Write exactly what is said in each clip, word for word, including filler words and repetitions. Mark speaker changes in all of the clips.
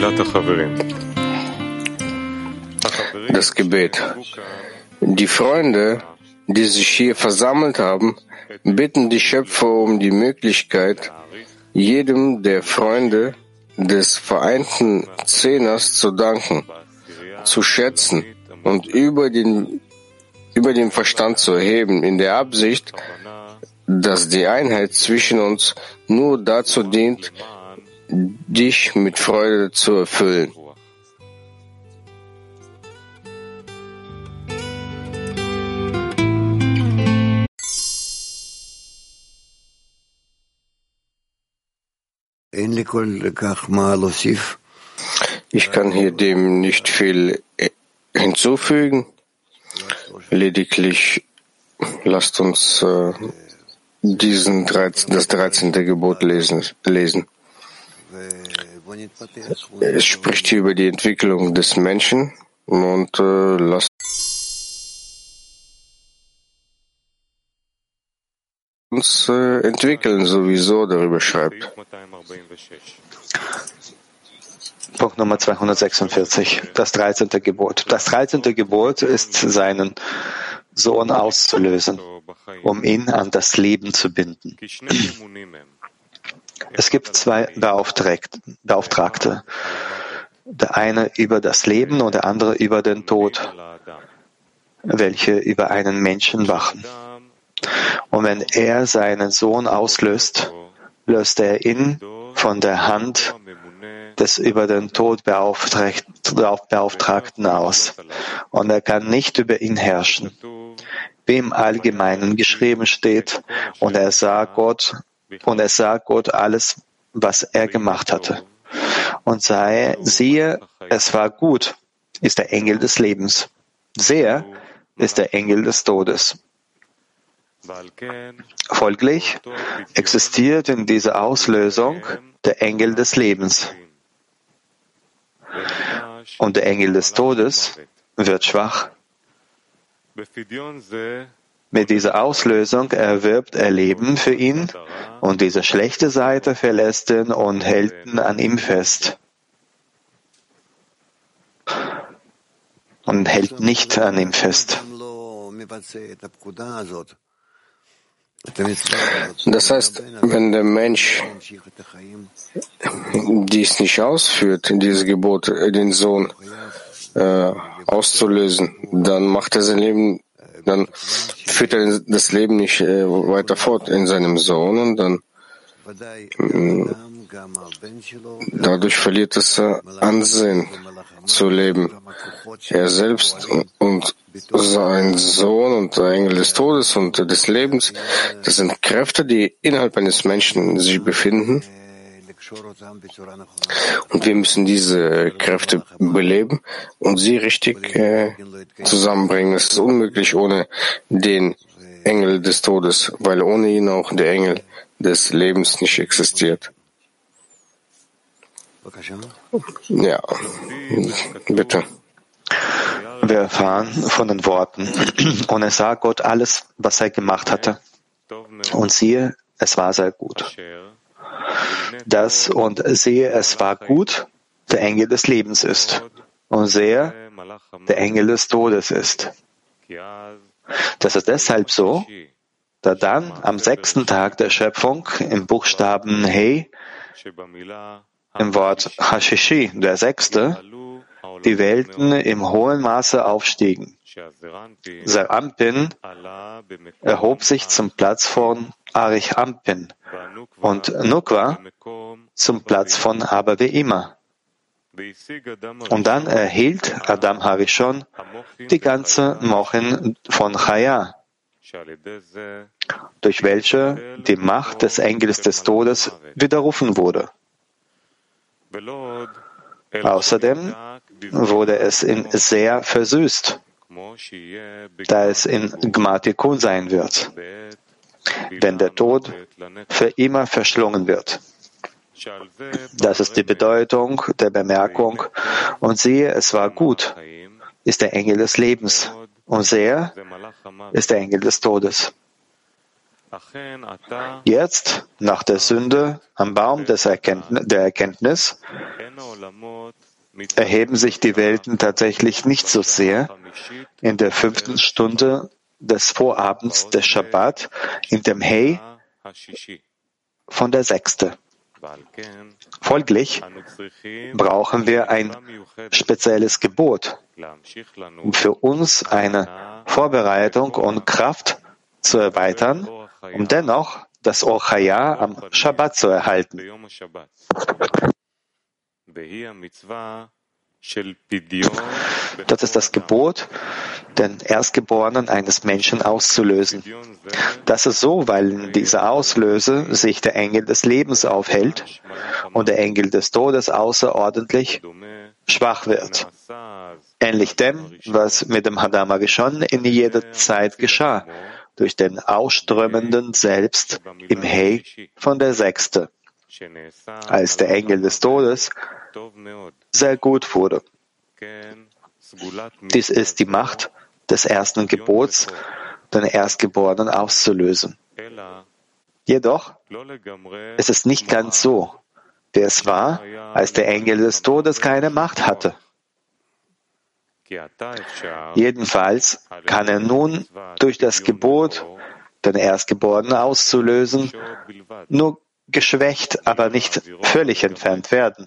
Speaker 1: Das Gebet. Die Freunde, die sich hier versammelt haben, bitten die Schöpfer um die Möglichkeit, jedem der Freunde des vereinten Zehners zu danken, zu schätzen und über den, über den Verstand zu erheben, in der Absicht, dass die Einheit zwischen uns nur dazu dient, dich mit Freude zu erfüllen. Ich kann hier dem nicht viel hinzufügen. Lediglich lasst uns äh, diesen dreizehn, das dreizehnte Gebot lesen, lesen. Es spricht hier über die Entwicklung des Menschen und äh, lasst uns äh, entwickeln, sowieso darüber schreibt.
Speaker 2: Punkt Nummer zweihundertsechsundvierzig, das dreizehnte Gebot. Das dreizehnte Gebot ist, seinen Sohn auszulösen, um ihn an das Leben zu binden. Es gibt zwei Beauftragte, der eine über das Leben und der andere über den Tod, welche über einen Menschen wachen. Und wenn er seinen Sohn auslöst, löst er ihn von der Hand des über den Tod Beauftragten aus. Und er kann nicht über ihn herrschen. Wie im Allgemeinen geschrieben steht, und er sah Gott, und er sah Gott alles, was er gemacht hatte. Und sei, siehe, es war gut, ist der Engel des Lebens. Sehe, ist der Engel des Todes. Folglich existiert in dieser Auslösung der Engel des Lebens. Und der Engel des Todes wird schwach. Mit dieser Auslösung erwirbt er Leben für ihn und diese schlechte Seite verlässt ihn und hält ihn an ihm fest. Und hält nicht an ihm fest.
Speaker 1: Das heißt, wenn der Mensch dies nicht ausführt, dieses Gebot, den Sohn äh, auszulösen, dann macht er sein Leben, dann führt er das Leben nicht äh, weiter fort in seinem Sohn und dann äh, dadurch verliert es äh, Ansehen zu leben. Er selbst und sein Sohn und der Engel des Todes und des Lebens, das sind Kräfte, die innerhalb eines Menschen sich befinden. Und wir müssen diese Kräfte beleben und sie richtig äh, zusammenbringen. Es ist unmöglich ohne den Engel des Todes, weil ohne ihn auch der Engel des Lebens nicht existiert. Ja, bitte.
Speaker 2: Wir erfahren von den Worten, und er sah Gott alles, was er gemacht hatte. Und siehe, es war sehr gut. Das und siehe, es war gut, der Engel des Lebens ist. Und sehe, der Engel des Todes ist. Das ist deshalb so, da dann am sechsten Tag der Schöpfung im Buchstaben He, im Wort Hashishi, der sechste, die Welten im hohen Maße aufstiegen. Serampin erhob sich zum Platz von Arichampin und Nukwa zum Platz von Aber wie immer. Und dann erhielt Adam Harishon die ganze Mochin von Chaya, durch welche die Macht des Engels des Todes widerrufen wurde. Außerdem wurde es in sehr versüßt, da es in Gmatikun sein wird, wenn der Tod für immer verschlungen wird. Das ist die Bedeutung der Bemerkung, und siehe, es war gut, ist der Engel des Lebens, und sehe, ist der Engel des Todes. Jetzt, nach der Sünde am Baum des Erkenntnis, der Erkenntnis, erheben sich die Welten tatsächlich nicht so sehr in der fünften Stunde des Vorabends des Schabbat, in dem Hey von der sechsten. Folglich brauchen wir ein spezielles Gebot, um für uns eine Vorbereitung und Kraft zu erweitern, um dennoch das Or Chaya am Schabbat zu erhalten. Das ist das Gebot, den Erstgeborenen eines Menschen auszulösen. Das ist so, weil in dieser Auslöse sich der Engel des Lebens aufhält und der Engel des Todes außerordentlich schwach wird. Ähnlich dem, was mit dem Hadam Arishon in jeder Zeit geschah, durch den ausströmenden Selbst im Hey von der Sechste, als der Engel des Todes sehr gut wurde. Dies ist die Macht des ersten Gebots, den Erstgeborenen auszulösen. Jedoch ist es nicht ganz so, wie es war, als der Engel des Todes keine Macht hatte. Jedenfalls kann er nun durch das Gebot, den Erstgeborenen auszulösen, nur geschwächt, aber nicht völlig entfernt werden.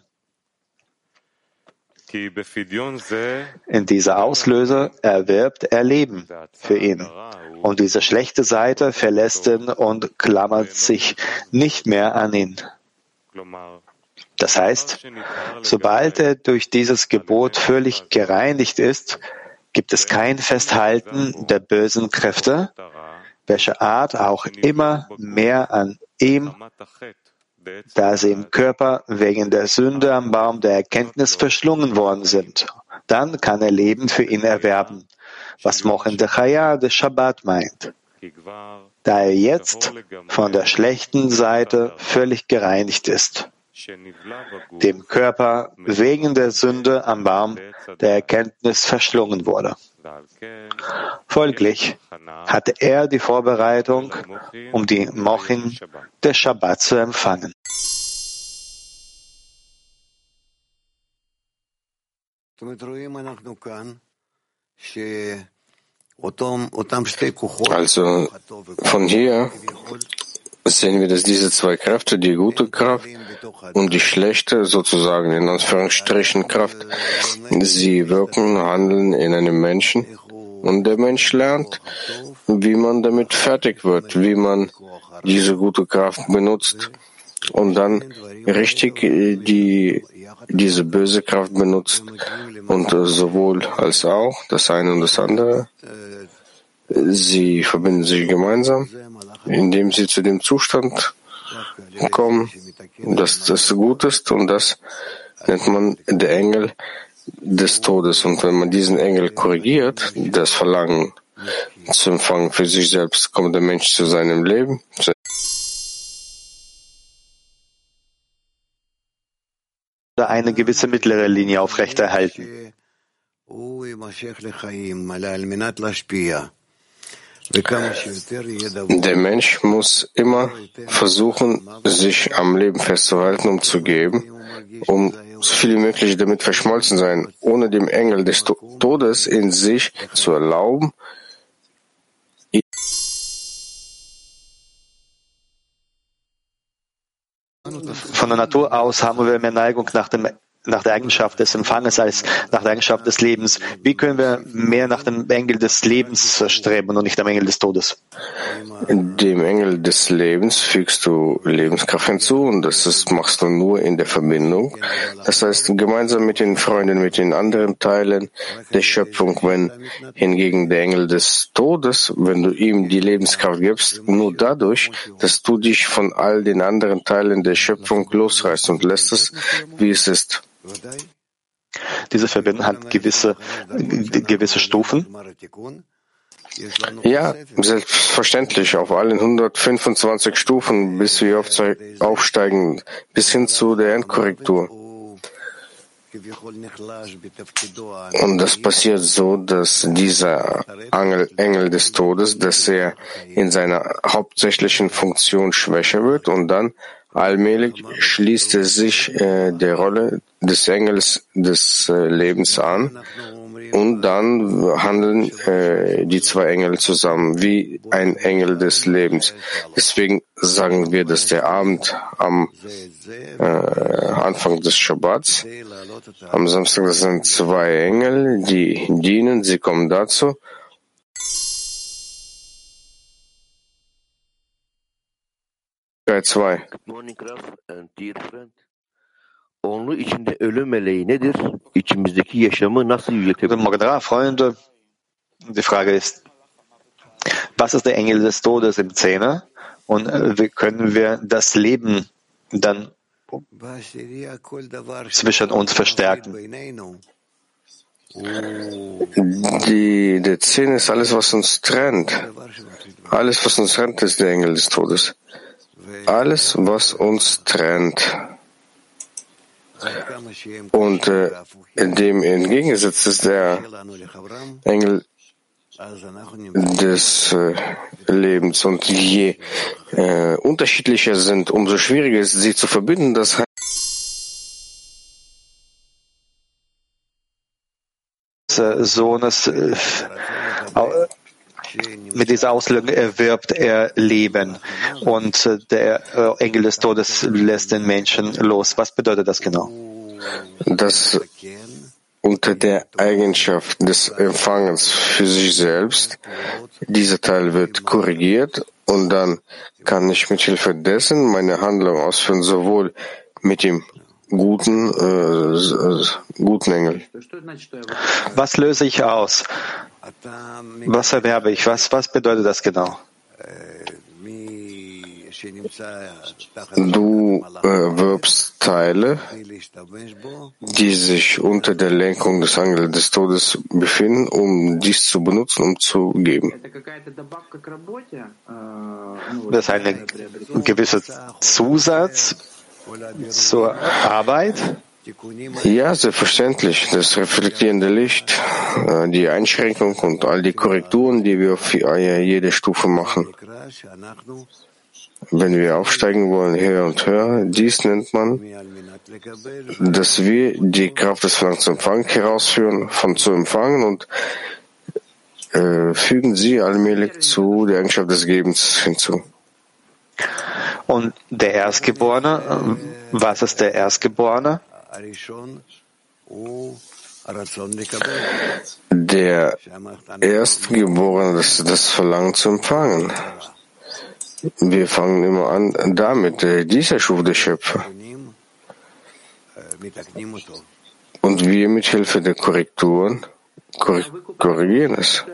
Speaker 2: In dieser Auslöser erwirbt er Leben für ihn. Und diese schlechte Seite verlässt ihn und klammert sich nicht mehr an ihn. Das heißt, sobald er durch dieses Gebot völlig gereinigt ist, gibt es kein Festhalten der bösen Kräfte, welcher Art auch immer mehr an ihm, da sie im Körper wegen der Sünde am Baum der Erkenntnis verschlungen worden sind. Dann kann er Leben für ihn erwerben, was Mochen de Chaya des Shabbat meint, da er jetzt von der schlechten Seite völlig gereinigt ist, dem Körper wegen der Sünde am Baum der Erkenntnis verschlungen wurde. Folglich hatte er die Vorbereitung, um die Mochin des Shabbat zu empfangen.
Speaker 1: Also von hier sehen wir, dass diese zwei Kräfte, die gute Kraft und die schlechte, sozusagen in Anführungsstrichen Kraft, sie wirken, handeln in einem Menschen und der Mensch lernt, wie man damit fertig wird, wie man diese gute Kraft benutzt und dann richtig die, diese böse Kraft benutzt und sowohl als auch das eine und das andere. Sie verbinden sich gemeinsam, indem sie zu dem Zustand kommen, dass das gut ist, und das nennt man der Engel des Todes. Und wenn man diesen Engel korrigiert, das Verlangen zu empfangen für sich selbst, kommt der Mensch zu seinem Leben.
Speaker 2: Oder eine gewisse mittlere Linie aufrechterhalten.
Speaker 1: Der Mensch muss immer versuchen, sich am Leben festzuhalten, um zu geben, um so viel wie möglich damit verschmolzen sein, ohne dem Engel des Todes in sich zu erlauben,
Speaker 2: von der Natur aus haben wir mehr Neigung nach dem nach der Eigenschaft des Empfanges als nach der Eigenschaft des Lebens. Wie können wir mehr nach dem Engel des Lebens streben und nicht dem Engel des Todes?
Speaker 1: Dem Engel des Lebens fügst du Lebenskraft hinzu, und das ist, machst du nur in der Verbindung. Das heißt, gemeinsam mit den Freunden, mit den anderen Teilen der Schöpfung, wenn hingegen der Engel des Todes, wenn du ihm die Lebenskraft gibst, nur dadurch, dass du dich von all den anderen Teilen der Schöpfung losreißt und lässt es, wie es ist.
Speaker 2: Diese Verbindung hat gewisse, gewisse Stufen.
Speaker 1: Ja, selbstverständlich, auf allen hundertfünfundzwanzig Stufen, bis wir aufsteigen, bis hin zu der Endkorrektur. Und das passiert so, dass dieser Engel, Engel des Todes, dass er in seiner hauptsächlichen Funktion schwächer wird und dann allmählich schließt er sich äh, der Rolle des Engels des äh, Lebens an und dann handeln äh, die zwei Engel zusammen wie ein Engel des Lebens. Deswegen sagen wir, dass der Abend am äh, Anfang des Schabbats, am Samstag, das sind zwei Engel, die dienen, sie kommen dazu. zwei.
Speaker 3: Onun içinde ölüm meleği nedir? İçimizdeki yaşamı nasıl yüceltebilir?
Speaker 2: Guten Morgen, Rav, Freunde. Die Frage ist, was ist der Engel des Todes im Zehner? Und wie können wir das Leben dann zwischen uns verstärken?
Speaker 1: Die, der Zehn ist alles, was uns trennt. Alles, was uns trennt, ist der Engel des Todes. Alles, was uns trennt. Und äh, dem entgegengesetzt ist der Engel des äh, Lebens. Und je äh, unterschiedlicher sind, umso schwieriger ist, sie zu verbinden. Das heißt,
Speaker 2: Sohnes äh, mit dieser Auslegung erwirbt er Leben und der Engel des Todes lässt den Menschen los. Was bedeutet das genau?
Speaker 1: Dass unter der Eigenschaft des Empfangens für sich selbst dieser Teil wird korrigiert und dann kann ich mit Hilfe dessen meine Handlung ausführen, sowohl mit dem guten, äh, guten Engel.
Speaker 2: Was löse ich aus? Was erwerbe ich? Was, was bedeutet das genau?
Speaker 1: Du äh, wirbst Teile, die sich unter der Lenkung des Engels des Todes befinden, um dies zu benutzen, um zu geben.
Speaker 2: Das ist ein gewisser Zusatz zur Arbeit?
Speaker 1: Ja, selbstverständlich. Das reflektierende Licht, die Einschränkung und all die Korrekturen, die wir auf jede Stufe machen. Wenn wir aufsteigen wollen, höher und höher, dies nennt man, dass wir die Kraft des Verlangens zu empfangen herausführen, von zu empfangen und äh, fügen sie allmählich zu der Eigenschaft des Gebens hinzu.
Speaker 2: Und der Erstgeborene, was ist der Erstgeborene?
Speaker 1: Der Erstgeborene, das ist das Verlangen zu empfangen. Wir fangen immer an damit, dieser Schuf der Schöpfer. Und wir mit Hilfe der Korrekturen korrigieren es.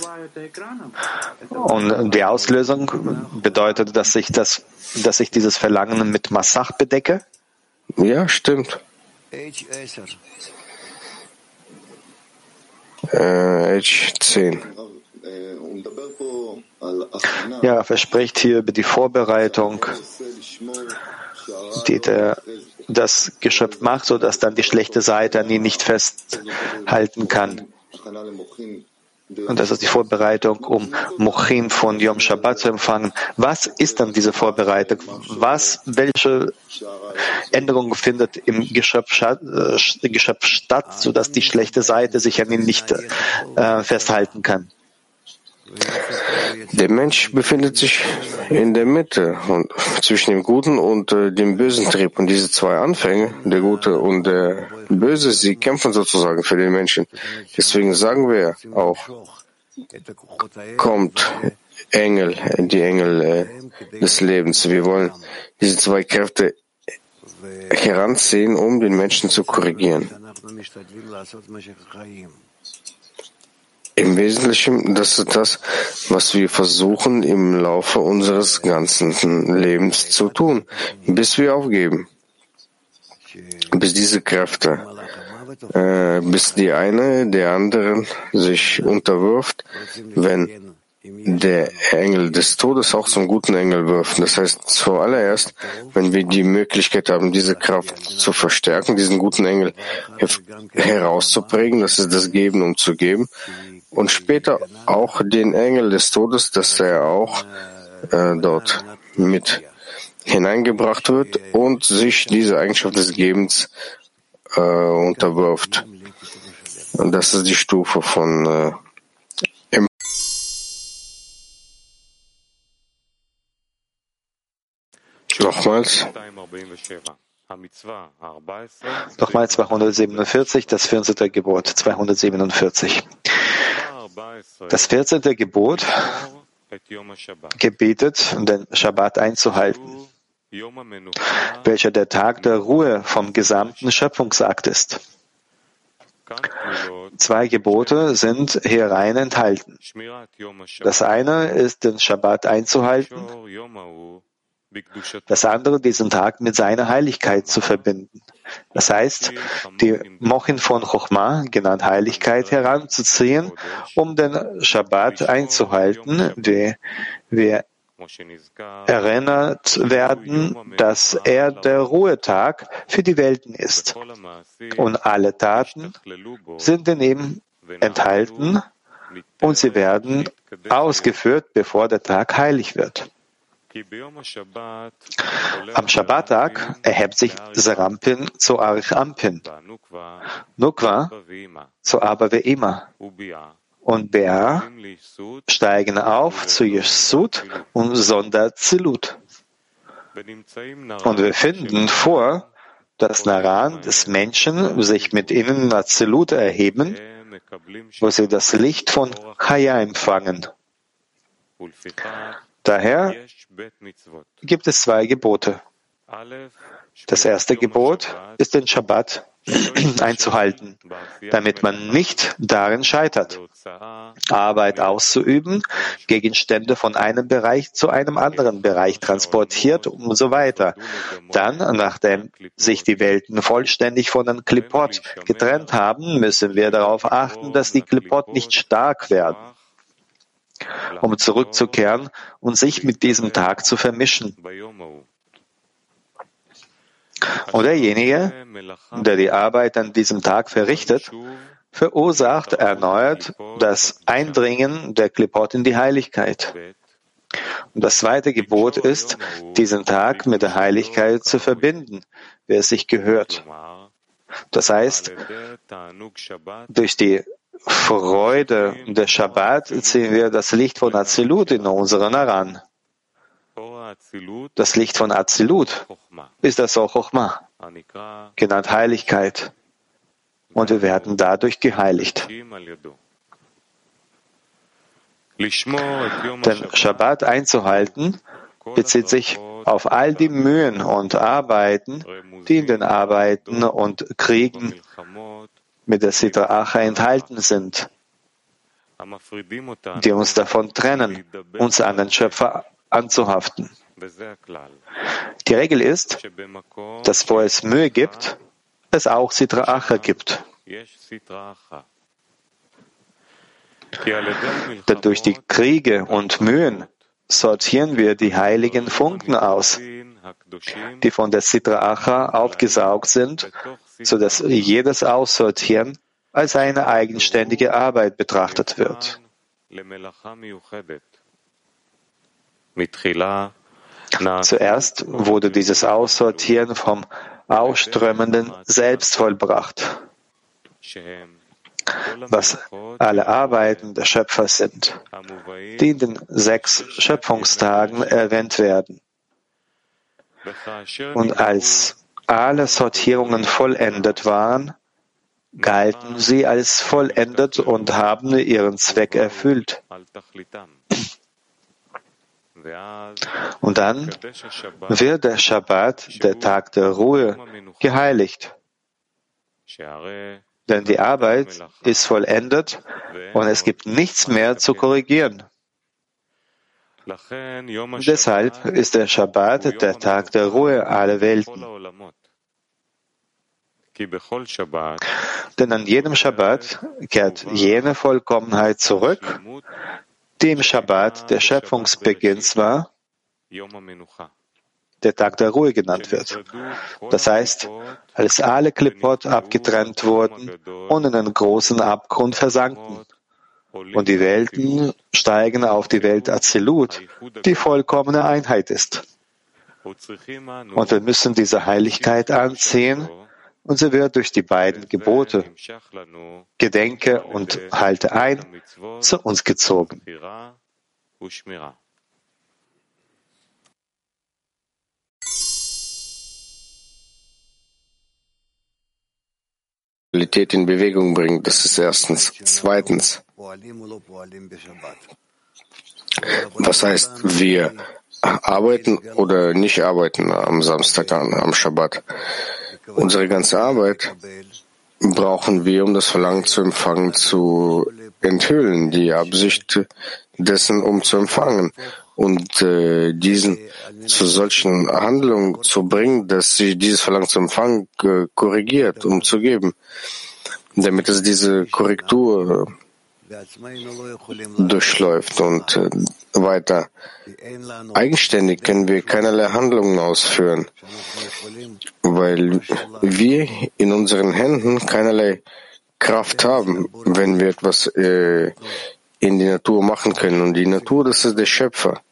Speaker 2: Und die Auslösung bedeutet, dass ich das, dass ich dieses Verlangen mit Massach bedecke?
Speaker 1: Ja, stimmt. Äh, H zehn.
Speaker 2: Ja, er spricht hier über die Vorbereitung, die der, das Geschöpf macht, sodass dann die schlechte Seite an ihn nicht festhalten kann. Und das ist die Vorbereitung, um Mochim von Yom Shabbat zu empfangen. Was ist dann diese Vorbereitung? Was, welche Änderung findet im Geschöpf, äh, Geschöpf statt, sodass die schlechte Seite sich an ihn nicht äh, festhalten kann?
Speaker 1: Der Mensch befindet sich in der Mitte und zwischen dem Guten und äh, dem bösen Trieb. Und diese zwei Anfänge, der Gute und der Böse, sie kämpfen sozusagen für den Menschen. Deswegen sagen wir auch, kommt Engel, die Engel äh, des Lebens. Wir wollen diese zwei Kräfte heranziehen, um den Menschen zu korrigieren. Im Wesentlichen, das ist das, was wir versuchen im Laufe unseres ganzen Lebens zu tun, bis wir aufgeben, bis diese Kräfte, äh, bis die eine der anderen sich unterwirft, wenn der Engel des Todes auch zum guten Engel wirft. Das heißt, zuallererst, wenn wir die Möglichkeit haben, diese Kraft zu verstärken, diesen guten Engel herauszuprägen, das ist das Geben, um zu geben, und später auch den Engel des Todes, dass er auch äh, dort mit hineingebracht wird und sich diese Eigenschaft des Gebens äh, unterwirft. Und das ist die Stufe von äh, Nochmals.
Speaker 2: Nochmal zweihundertsiebenundvierzig, das vierzehnte Gebot, zweihundertsiebenundvierzig. Das vierzehnte Gebot gebietet, den Schabbat einzuhalten, welcher der Tag der Ruhe vom gesamten Schöpfungsakt ist. Zwei Gebote sind hierein enthalten. Das eine ist, den Schabbat einzuhalten, das andere, diesen Tag mit seiner Heiligkeit zu verbinden. Das heißt, die Mochin von Chochma, genannt Heiligkeit, heranzuziehen, um den Schabbat einzuhalten, wie wir erinnert werden, dass er der Ruhetag für die Welten ist. Und alle Taten sind in ihm enthalten und sie werden ausgeführt, bevor der Tag heilig wird. Am Schabbattag erhebt sich Serampin zu Arich Ampin, Nukwa zu Abba Ve'ima und Bea steigen auf zu Yeshut und Sonderzilut. Und wir finden vor, dass Naran des Menschen sich mit ihnen in Azilut erheben, wo sie das Licht von Chaya empfangen. Daher gibt es zwei Gebote. Das erste Gebot ist, den Schabbat einzuhalten, damit man nicht darin scheitert, Arbeit auszuüben, Gegenstände von einem Bereich zu einem anderen Bereich transportiert und so weiter. Dann, nachdem sich die Welten vollständig von den Klippot getrennt haben, müssen wir darauf achten, dass die Klippot nicht stark werden, um zurückzukehren und sich mit diesem Tag zu vermischen. Und derjenige, der die Arbeit an diesem Tag verrichtet, verursacht erneut das Eindringen der Klippot in die Heiligkeit. Und das zweite Gebot ist, diesen Tag mit der Heiligkeit zu verbinden, wie es sich gehört. Das heißt, durch die Freude der Schabbat ziehen wir das Licht von Azilut in unseren Aran. Das Licht von Azilut ist das Or Chochma, genannt Heiligkeit. Und wir werden dadurch geheiligt. Den Schabbat einzuhalten bezieht sich auf all die Mühen und Arbeiten, die in den Arbeiten und Kriegen mit der Sitra Acha enthalten sind, die uns davon trennen, uns an den Schöpfer anzuhaften. Die Regel ist, dass wo es Mühe gibt, es auch Sitra Acha gibt. Denn durch die Kriege und Mühen sortieren wir die heiligen Funken aus, die von der Sitra Acha aufgesaugt sind, sodass jedes Aussortieren als eine eigenständige Arbeit betrachtet wird. Zuerst wurde dieses Aussortieren vom Ausströmenden selbst vollbracht, was alle Arbeiten der Schöpfer sind, die in den sechs Schöpfungstagen erwähnt werden. Und als alle Sortierungen vollendet waren, galten sie als vollendet und haben ihren Zweck erfüllt. Und dann wird der Schabbat, der Tag der Ruhe, geheiligt. Denn die Arbeit ist vollendet und es gibt nichts mehr zu korrigieren. Deshalb ist der Schabbat der Tag der Ruhe aller Welten. Denn an jedem Schabbat kehrt jene Vollkommenheit zurück, die im Schabbat der Schöpfungsbeginns war, der Tag der Ruhe genannt wird. Das heißt, als alle Klippot abgetrennt wurden und in einen großen Abgrund versanken. Und die Welten steigen auf die Welt Azilut, die vollkommene Einheit ist. Und wir müssen diese Heiligkeit anziehen, und sie wird durch die beiden Gebote, Gedenke und halte ein, zu uns gezogen.
Speaker 1: In Bewegung bringt, das ist erstens. Zweitens, was heißt, wir arbeiten oder nicht arbeiten am Samstag, am Schabbat? Unsere ganze Arbeit brauchen wir, um das Verlangen zu empfangen, zu enthüllen, die Absicht dessen, um zu empfangen und äh, diesen zu solchen Handlungen zu bringen, dass sie dieses Verlangen zu empfangen äh, korrigiert, um zu geben, damit es diese Korrektur durchläuft und äh, weiter. Eigenständig können wir keinerlei Handlungen ausführen, weil wir in unseren Händen keinerlei Kraft haben, wenn wir etwas äh, in die Natur machen können. Und die Natur, das ist der Schöpfer.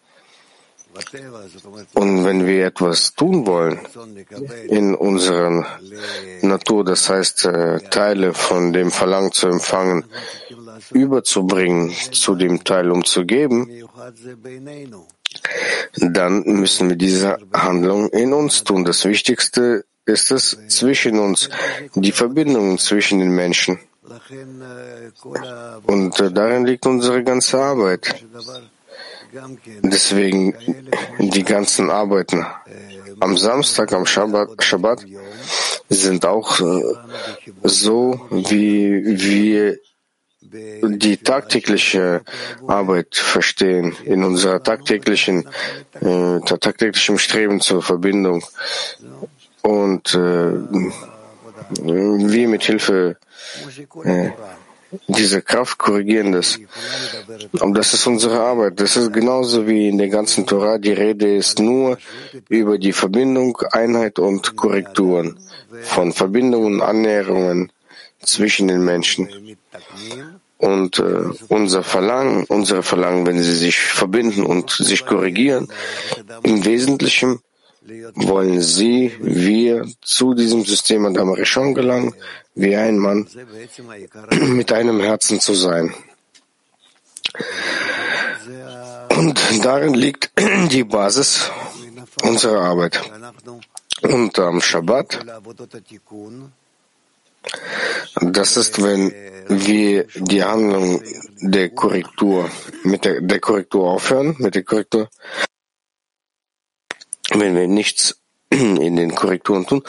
Speaker 1: Und wenn wir etwas tun wollen in unserer Natur, das heißt äh, Teile von dem Verlangen zu empfangen, überzubringen zu dem Teil, um zu geben, dann müssen wir diese Handlung in uns tun. Das Wichtigste ist es zwischen uns, die Verbindung zwischen den Menschen. Und äh, darin liegt unsere ganze Arbeit. Deswegen die ganzen Arbeiten am Samstag, am Schabbat, Schabbat sind auch äh, so, wie wir die tagtägliche Arbeit verstehen, in unserer tagtäglichen, äh, tagtäglichen Streben zur Verbindung. Und äh, wir mit Hilfe äh, diese Kraft korrigieren das. Und das ist unsere Arbeit. Das ist genauso wie in der ganzen Torah. Die Rede ist nur über die Verbindung, Einheit und Korrekturen von Verbindungen, Annäherungen zwischen den Menschen. Und äh, unser Verlangen, unsere Verlangen, wenn sie sich verbinden und sich korrigieren, im Wesentlichen wollen sie, wir, zu diesem System Adam Rishon gelangen, wie ein Mann, mit einem Herzen zu sein. Und darin liegt die Basis unserer Arbeit. Und am Schabbat, das ist, wenn wir die Handlung der Korrektur, mit der, der Korrektur aufhören, mit der Korrektur, wenn wir nichts in den Korrekturen tun,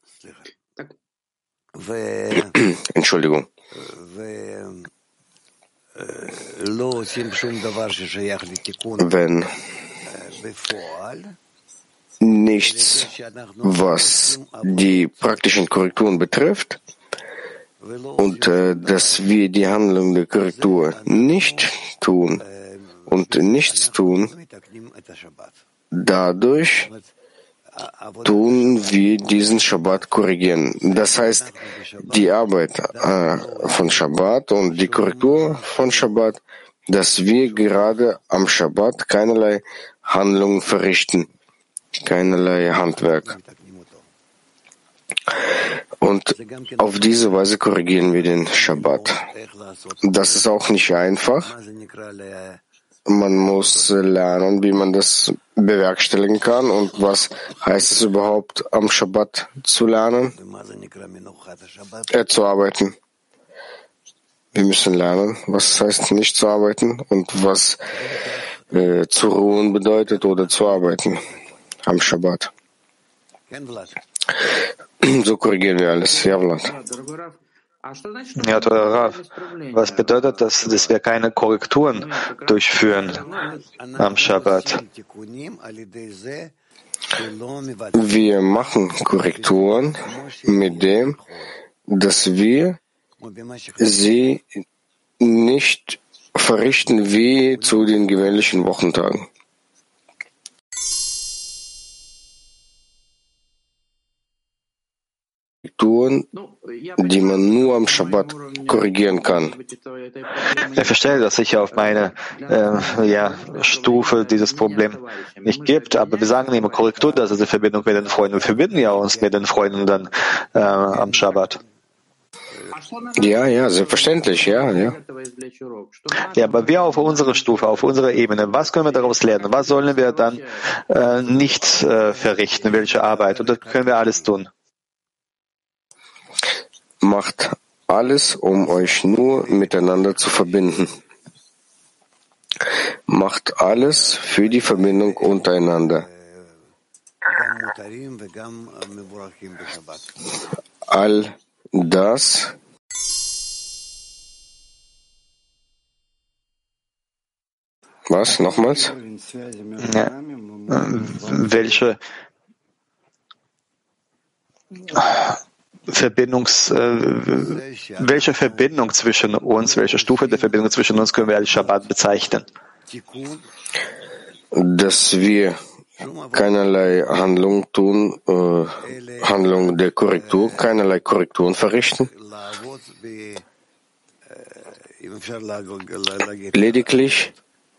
Speaker 1: Entschuldigung, wenn nichts, was die praktischen Korrekturen betrifft, und äh, dass wir die Handlung der Korrektur nicht tun und nichts tun, dadurch tun wir diesen Schabbat korrigieren. Das heißt, die Arbeit äh, von Schabbat und die Korrektur von Schabbat, dass wir gerade am Schabbat keinerlei Handlungen verrichten, keinerlei Handwerk. Und auf diese Weise korrigieren wir den Schabbat. Das ist auch nicht einfach. Man muss lernen, wie man das bewerkstelligen kann und was heißt es überhaupt, am Schabbat zu lernen, äh, zu arbeiten. Wir müssen lernen, was es heißt, nicht zu arbeiten und was äh, zu ruhen bedeutet oder zu arbeiten am Schabbat. So korrigieren wir alles. Ja, Vlad.
Speaker 2: Ja, Rav, was bedeutet das, dass wir keine Korrekturen durchführen am Schabbat?
Speaker 1: Wir machen Korrekturen mit dem, dass wir sie nicht verrichten wie zu den gewöhnlichen Wochentagen. Korrekturen, die man nur am Schabbat korrigieren kann.
Speaker 2: Ich verstehe, dass sich auf meine äh, ja, Stufe dieses Problem nicht gibt, aber wir sagen immer Korrektur, das ist die Verbindung mit den Freunden. Wir verbinden ja uns mit den Freunden dann äh, am Schabbat.
Speaker 1: Ja, ja, selbstverständlich, ja, ja.
Speaker 2: Ja, aber wir auf unserer Stufe, auf unserer Ebene, was können wir daraus lernen? Was sollen wir dann äh, nicht äh, verrichten? Welche Arbeit? Und das können wir alles tun.
Speaker 1: Macht alles, um euch nur miteinander zu verbinden. Macht alles für die Verbindung untereinander. All das Was? Nochmals?
Speaker 2: Ja. Welche Verbindungs, äh, welche Verbindung zwischen uns, welche Stufe der Verbindung zwischen uns können wir als Shabbat bezeichnen?
Speaker 1: Dass wir keinerlei Handlung tun, äh, Handlung der Korrektur, keinerlei Korrekturen verrichten. Lediglich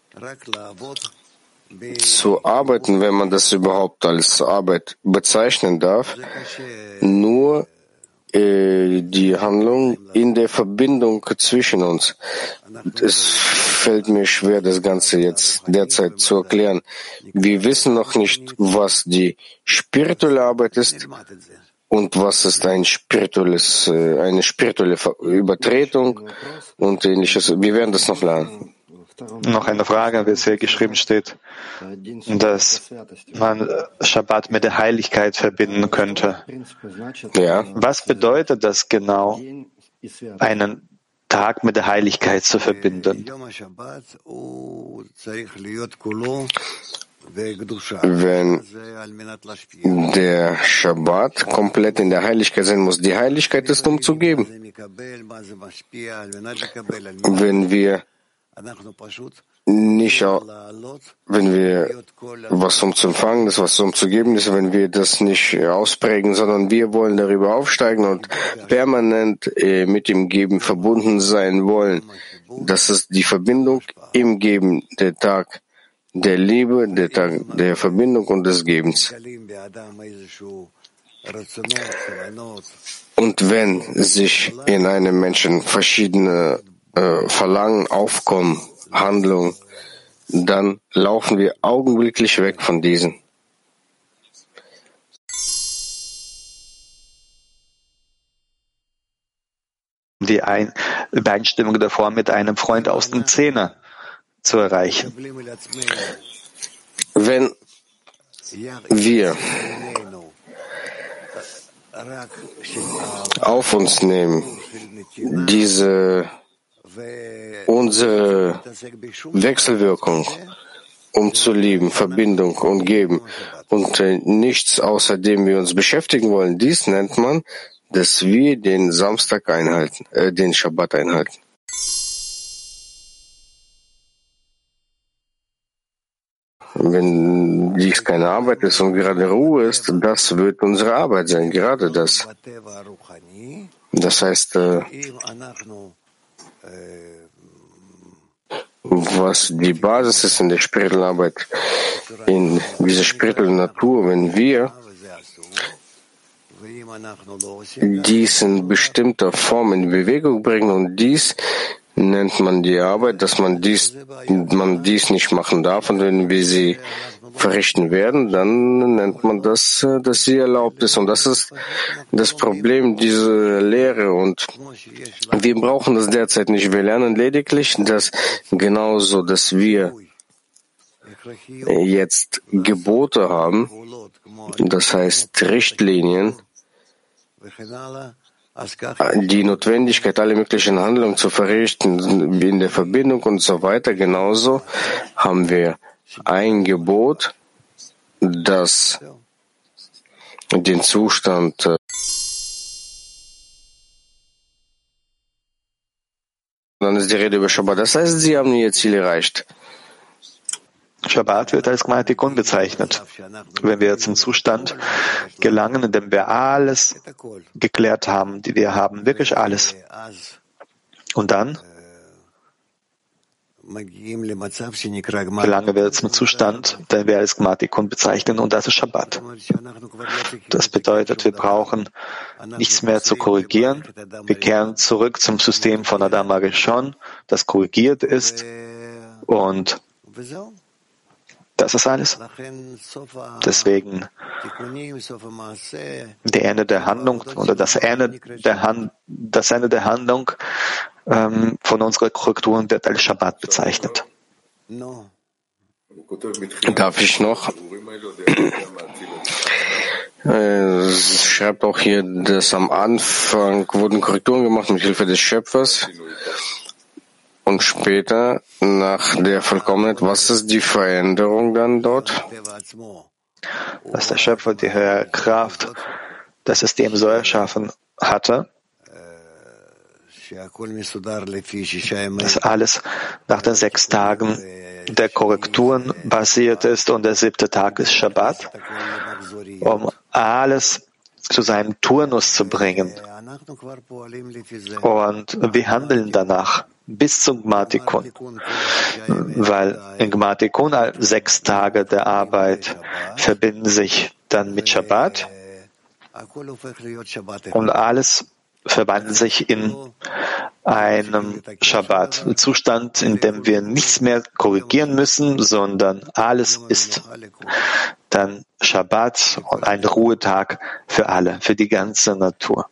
Speaker 1: zu arbeiten, wenn man das überhaupt als Arbeit bezeichnen darf, nur äh, die Handlung in der Verbindung zwischen uns. Es fällt mir schwer, das Ganze jetzt derzeit zu erklären. Wir wissen noch nicht, was die spirituelle Arbeit ist und was ist ein spirituelles, äh, eine spirituelle Übertretung und ähnliches. Wir werden das noch lernen.
Speaker 2: Noch eine Frage, wie es hier geschrieben steht, dass man Schabbat mit der Heiligkeit verbinden könnte.
Speaker 1: Ja.
Speaker 2: Was bedeutet das genau, einen Tag mit der Heiligkeit zu verbinden?
Speaker 1: Wenn der Schabbat komplett in der Heiligkeit sein muss, die Heiligkeit ist, um zu geben. Wenn wir nicht, wenn wir was um zu empfangen ist, was um zu geben ist, wenn wir das nicht ausprägen, sondern wir wollen darüber aufsteigen und permanent äh, mit dem Geben verbunden sein wollen. Das ist die Verbindung im Geben, der Tag der Liebe, der Tag der Verbindung und des Gebens. Und wenn sich in einem Menschen verschiedene äh, Verlangen aufkommen, Handlung, dann laufen wir augenblicklich weg von diesen.
Speaker 2: Die Ein- Übereinstimmung davor mit einem Freund aus dem Zehner zu erreichen.
Speaker 1: Wenn wir auf uns nehmen, diese unsere Wechselwirkung, um zu lieben, Verbindung und Geben und äh, nichts, außerdem wir uns beschäftigen wollen, dies nennt man, dass wir den Samstag einhalten, äh, den Schabbat einhalten. Wenn dies keine Arbeit ist und gerade Ruhe ist, das wird unsere Arbeit sein, gerade das. Das heißt, äh, was die Basis ist in der spirituellen Arbeit, in dieser spirituellen Natur, wenn wir dies in bestimmter Form in Bewegung bringen und dies nennt man die Arbeit, dass man dies, man dies nicht machen darf und wenn wir sie verrichten werden, dann nennt man das, dass sie erlaubt ist und das ist das Problem dieser Lehre und wir brauchen das derzeit nicht. Wir lernen lediglich, dass genauso, dass wir jetzt Gebote haben, das heißt Richtlinien, die Notwendigkeit, alle möglichen Handlungen zu verrichten in der Verbindung und so weiter. Genauso haben wir ein Gebot, das den Zustand Dann ist die Rede über Shabbat. Das heißt, sie haben ihr Ziel erreicht.
Speaker 2: Shabbat wird als Gmatikon bezeichnet. Wenn wir zum Zustand gelangen, in dem wir alles geklärt haben, die wir haben, wirklich alles. Und dann gelangen wir zum Zustand, den wir als Gmatikon bezeichnen, und das ist Shabbat. Das bedeutet, wir brauchen nichts mehr zu korrigieren. Wir kehren zurück zum System von Adam Arishon, das korrigiert ist, und das ist alles. Deswegen der Ende der Handlung oder das Ende der, Hand, das Ende der Handlung ähm, von unserer Korrekturen wird als Shabbat bezeichnet.
Speaker 1: Darf ich noch? Es schreibt auch hier, dass am Anfang wurden Korrekturen gemacht mit Hilfe des Schöpfers. Und später, nach der Vollkommenheit, was ist die Veränderung dann dort?
Speaker 2: Dass der Schöpfer die höhere Kraft, das es dem so erschaffen hatte, dass alles nach den sechs Tagen der Korrekturen basiert ist, und der siebte Tag ist Shabbat, um alles zu seinem Turnus zu bringen. Und wir handeln danach bis zum Gmatikon, weil in Gmatikon sechs Tage der Arbeit verbinden sich dann mit Shabbat, und alles verwandelt sich in einem Shabbat-Zustand, in dem wir nichts mehr korrigieren müssen, sondern alles ist dann Shabbat und ein Ruhetag für alle, für die ganze Natur.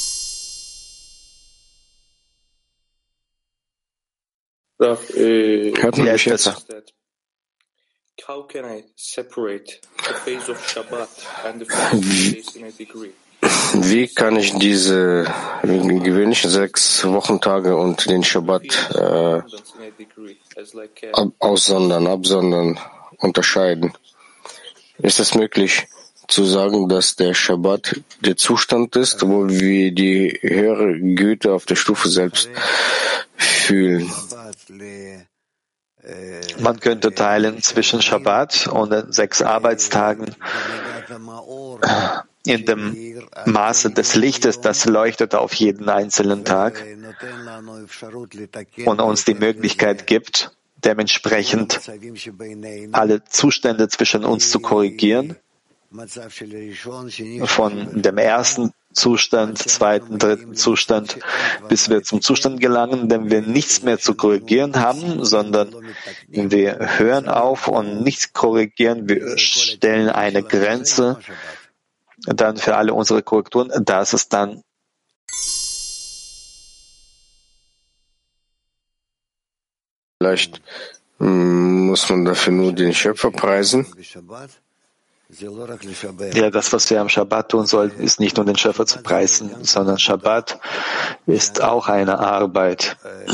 Speaker 1: Raf, äh, Hört man mich jetzt?
Speaker 4: How can I separate the phase of Shabbat and the phase in a degree?
Speaker 1: Wie kann ich diese gewöhnlichen sechs Wochentage und den Shabbat äh, ab, aussondern, absondern, unterscheiden? Ist es möglich zu sagen, dass der Shabbat der Zustand ist, wo wir die höhere Güte auf der Stufe selbst fühlen?
Speaker 2: Man könnte teilen zwischen Shabbat und den sechs Arbeitstagen in dem Maße des Lichtes, das leuchtet auf jeden einzelnen Tag und uns die Möglichkeit gibt, dementsprechend alle Zustände zwischen uns zu korrigieren, von dem ersten Zustand, zweiten, dritten Zustand, bis wir zum Zustand gelangen, in dem wir nichts mehr zu korrigieren haben, sondern wir hören auf und nichts korrigieren, wir stellen eine Grenze dann für alle unsere Korrekturen. Das ist dann
Speaker 1: vielleicht muss man dafür nur den Schöpfer preisen.
Speaker 2: Ja, das, was wir am Shabbat tun sollten, ist nicht nur den Schöpfer zu preisen, sondern Shabbat ist auch eine Arbeit.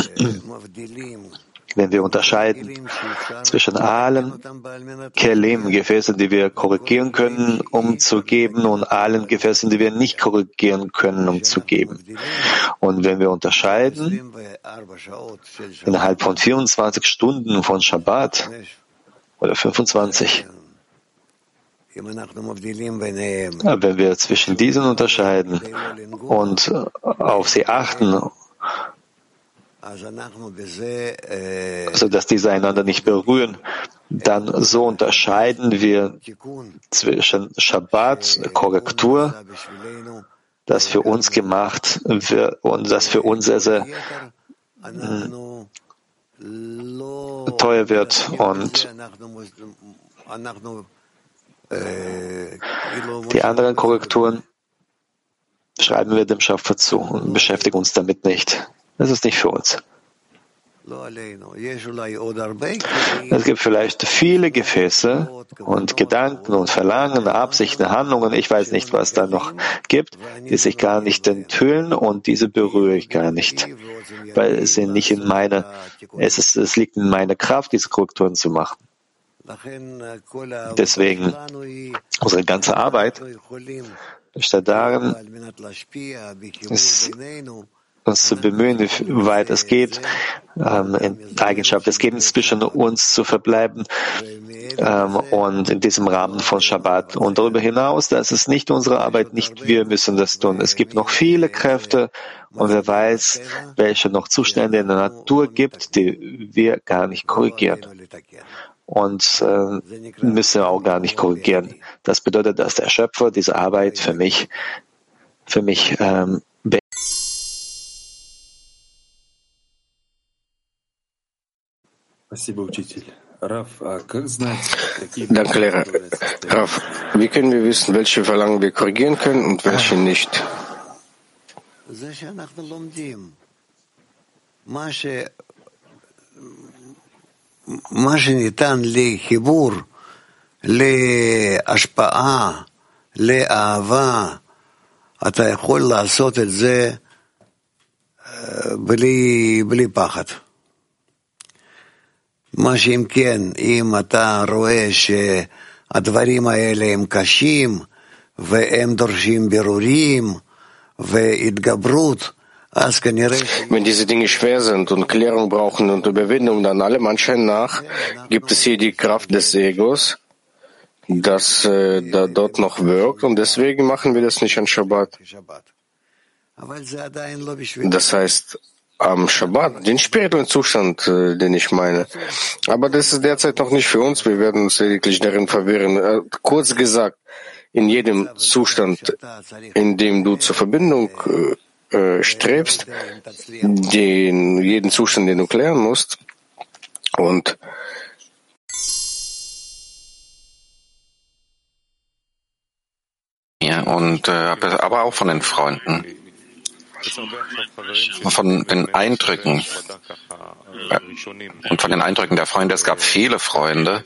Speaker 2: Wenn wir unterscheiden zwischen allen Kelim, Gefäßen, die wir korrigieren können, um zu geben, und allen Gefäßen, die wir nicht korrigieren können, um zu geben. Und wenn wir unterscheiden innerhalb von vierundzwanzig Stunden von Shabbat oder fünfundzwanzig, wenn wir zwischen diesen unterscheiden und auf sie achten, also dass diese einander nicht berühren, dann so unterscheiden wir zwischen Shabbat, Korrektur, das für uns gemacht wird und das für uns sehr, sehr teuer wird, und die anderen Korrekturen schreiben wir dem Schöpfer zu und beschäftigen uns damit nicht. Das ist nicht für uns. Es gibt vielleicht viele Gefäße und Gedanken und Verlangen, Absichten, Handlungen, ich weiß nicht, was da noch gibt, die sich gar nicht enthüllen, und diese berühre ich gar nicht, weil sie nicht in meine, es ist, es liegt in meiner Kraft, diese Korrekturen zu machen. Deswegen, unsere ganze Arbeit besteht darin, ist uns zu bemühen, wie weit es geht, ähm, in der Eigenschaft des Gebens zwischen uns zu verbleiben ähm, und in diesem Rahmen von Shabbat. Und darüber hinaus, das ist nicht unsere Arbeit, nicht wir müssen das tun. Es gibt noch viele Kräfte und wer weiß, welche noch Zustände in der Natur gibt, die wir gar nicht korrigieren. Und äh, müssen wir auch gar nicht korrigieren. Das bedeutet, dass der Schöpfer diese Arbeit für mich, für mich ähm,
Speaker 1: Danke, Lehrer. Rav, wie können wir wissen, welche Verlangen wir korrigieren können und welche nicht?
Speaker 5: מה שניתן לחיבור, להשפעה, לאהבה, אתה יכול לעשות את זה בלי, בלי פחד. מה שאם כן, אם אתה רואה שהדברים האלה הם קשים, והם דורשים בירורים, והתגברות,
Speaker 1: Wenn diese Dinge schwer sind und Klärung brauchen und Überwindung, dann allem Anschein nach gibt es hier die Kraft des Egos, das äh, da, dort noch wirkt, und deswegen machen wir das nicht an Shabbat. Das heißt, am Shabbat, den spirituellen Zustand, äh, den ich meine. Aber das ist derzeit noch nicht für uns, wir werden uns lediglich darin verwirren. Äh, kurz gesagt, in jedem Zustand, in dem du zur Verbindung äh, strebst, den, jeden Zustand, den du klären musst. Und
Speaker 6: ja, und äh, aber auch von den Freunden, von den Eindrücken äh, und von den Eindrücken der Freunde. Es gab viele Freunde,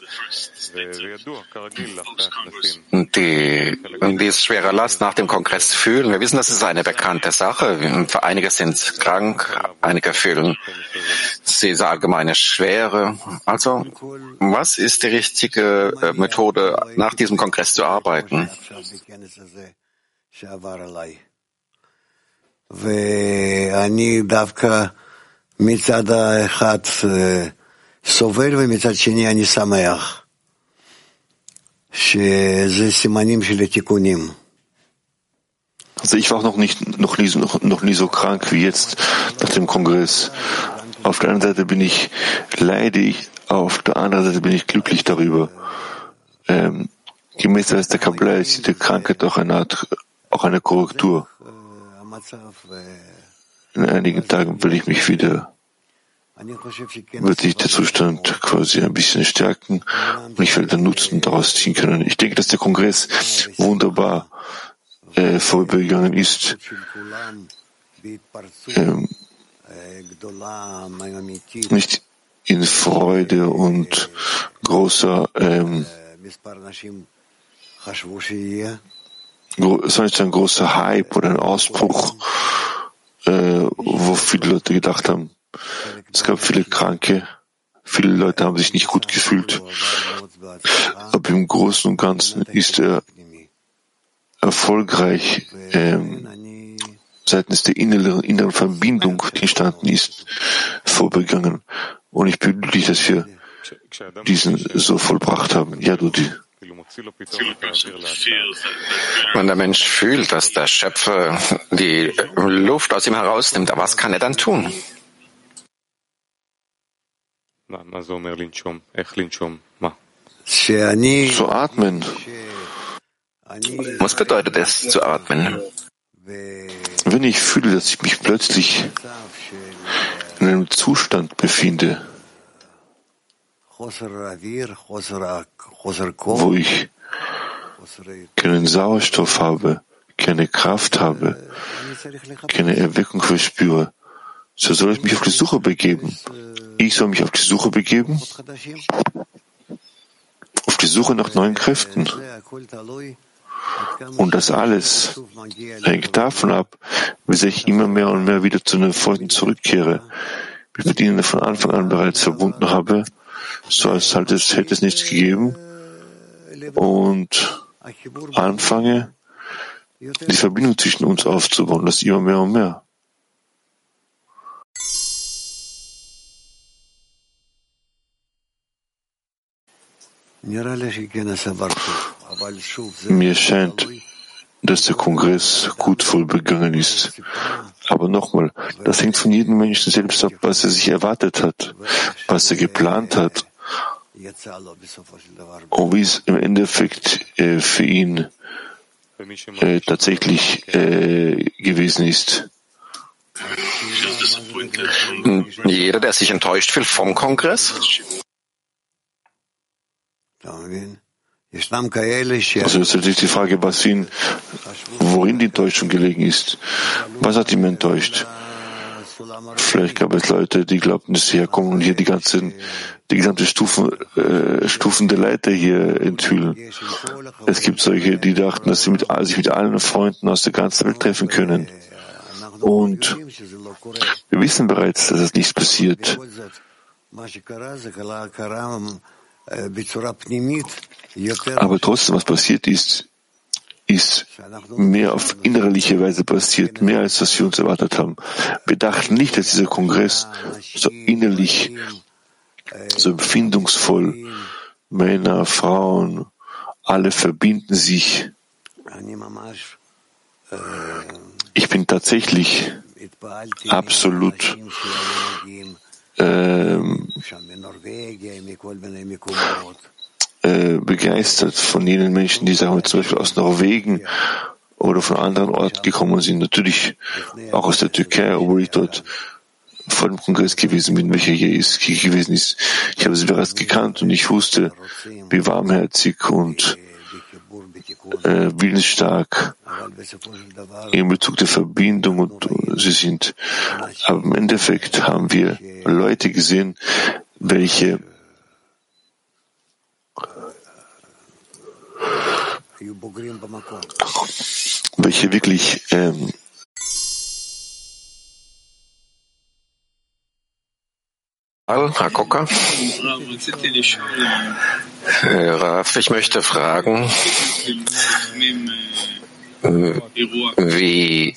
Speaker 6: die, die es schwerer Last nach dem Kongress fühlen. Wir wissen, das ist eine bekannte Sache. Einige sind krank, einige fühlen diese allgemeine Schwere. Also, was ist die richtige äh, Methode, nach diesem Kongress zu arbeiten?
Speaker 5: ואני דווקא מצד האחד סובל ומצד שני אני שמח שזה סימנים של התיקונים.
Speaker 7: Also ich war noch nicht, noch nie, noch, noch nie so krank wie jetzt nach dem Kongress. Auf der einen Seite bin ich leidig, auf der anderen Seite bin ich glücklich darüber. Ähm, gemäß der Kabbalah ist die Krankheit auch eine Art, auch eine Korrektur. In einigen Tagen will ich mich wieder, wird sich der Zustand quasi ein bisschen stärken und ich werde den Nutzen daraus ziehen können. Ich denke, dass der Kongress wunderbar äh, vorübergegangen ist. Ähm, nicht in Freude und großer ähm, es war nicht ein großer Hype oder ein Ausbruch, äh, wo viele Leute gedacht haben, es gab viele Kranke, viele Leute haben sich nicht gut gefühlt. Aber im Großen und Ganzen ist er erfolgreich ähm, seitens der inneren, inneren Verbindung, die entstanden ist, vorbegangen. Und ich bin glücklich, dass wir diesen so vollbracht haben. Ja, Dudi.
Speaker 6: Wenn der Mensch fühlt, dass der Schöpfer die Luft aus ihm herausnimmt, was kann er dann tun?
Speaker 7: Zu atmen.
Speaker 6: Was bedeutet es, zu atmen?
Speaker 7: Wenn ich fühle, dass ich mich plötzlich in einem Zustand befinde, wo ich keinen Sauerstoff habe, keine Kraft habe, keine Erweckung verspüre, so soll ich mich auf die Suche begeben. Ich soll mich auf die Suche begeben, auf die Suche nach neuen Kräften. Und das alles hängt davon ab, wie sehr ich immer mehr und mehr wieder zu den Freunden zurückkehre, wie ich mit ihnen von Anfang an bereits verbunden habe, so als halt es hätte es nichts gegeben, und anfange, die Verbindung zwischen uns aufzubauen, das immer mehr und mehr. Mir scheint, dass der Kongress gut vollbegangen ist. Aber nochmal, das hängt von jedem Menschen selbst ab, was er sich erwartet hat, was er geplant hat und wie es im Endeffekt äh, für ihn äh, tatsächlich äh, gewesen ist.
Speaker 6: Jeder, der sich enttäuscht fühlt vom Kongress?
Speaker 7: Also es ist natürlich die Frage, was ihn, worin die Enttäuschung gelegen ist. Was hat ihn enttäuscht? Vielleicht gab es Leute, die glaubten, dass sie herkommen und hier die ganzen, die gesamte Stufen, äh, Stufen der Leiter hier enthüllen. Es gibt solche, die dachten, dass sie mit, sich mit allen Freunden aus der ganzen Welt treffen können. Und wir wissen bereits, dass es nichts passiert. Aber trotzdem, was passiert ist, ist mehr auf innerliche Weise passiert, mehr als was wir uns erwartet haben. Wir dachten nicht, dass dieser Kongress so innerlich, so empfindungsvoll, Männer, Frauen, alle verbinden sich. Ich bin tatsächlich absolut ähm, äh, begeistert von jenen Menschen, die sagen wir zum Beispiel aus Norwegen oder von anderen Orten gekommen sind. Natürlich auch aus der Türkei, obwohl ich dort vor dem Kongress gewesen bin, welcher hier ist, hier gewesen ist. Ich habe sie bereits gekannt und ich wusste, wie warmherzig und äh, willensstark in Bezug der Verbindung und sie sind. Aber im Endeffekt haben wir Leute gesehen, welche welche wirklich ähm,
Speaker 6: Herr Kocker. Raf, ich möchte fragen, wie,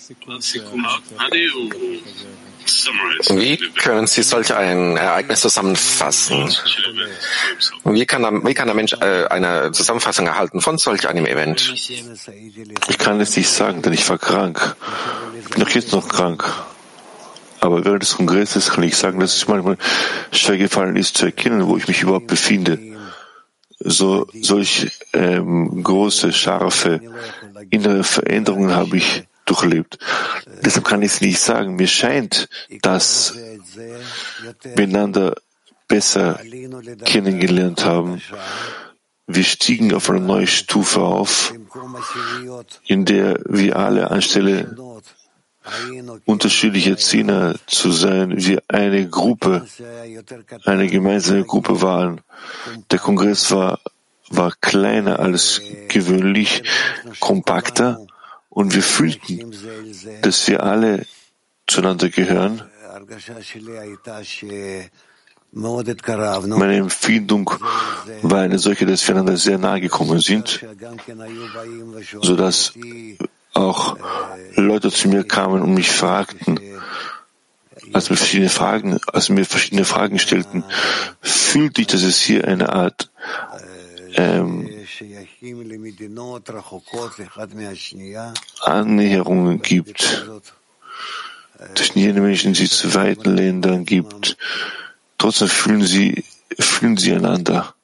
Speaker 6: wie können Sie solch ein Ereignis zusammenfassen? Wie kann, wie kann ein Mensch äh, eine Zusammenfassung erhalten von solch einem Event?
Speaker 7: Ich kann es nicht sagen, denn ich war krank. Ich bin auch jetzt noch krank. Aber während des Kongresses kann ich sagen, dass es manchmal schwer gefallen ist, zu erkennen, wo ich mich überhaupt befinde. So, solch ähm, große, scharfe, innere Veränderungen habe ich durchlebt. Deshalb kann ich es nicht sagen. Mir scheint, dass wir einander besser kennengelernt haben. Wir stiegen auf eine neue Stufe auf, in der wir alle anstelle unterschiedliche Zehner zu sein, wir eine Gruppe, eine gemeinsame Gruppe waren. Der Kongress war, war kleiner als gewöhnlich, kompakter und wir fühlten, dass wir alle zueinander gehören. Meine Empfindung war eine solche, dass wir einander sehr nahe gekommen sind, sodass auch Leute zu mir kamen und mich fragten, als mir verschiedene Fragen, als mir verschiedene Fragen stellten, fühlte ich, dass es hier eine Art ähm, Annäherungen gibt zwischen jenen Menschen, die zu weiten Ländern gibt. Trotzdem fühlen sie, fühlen sie einander.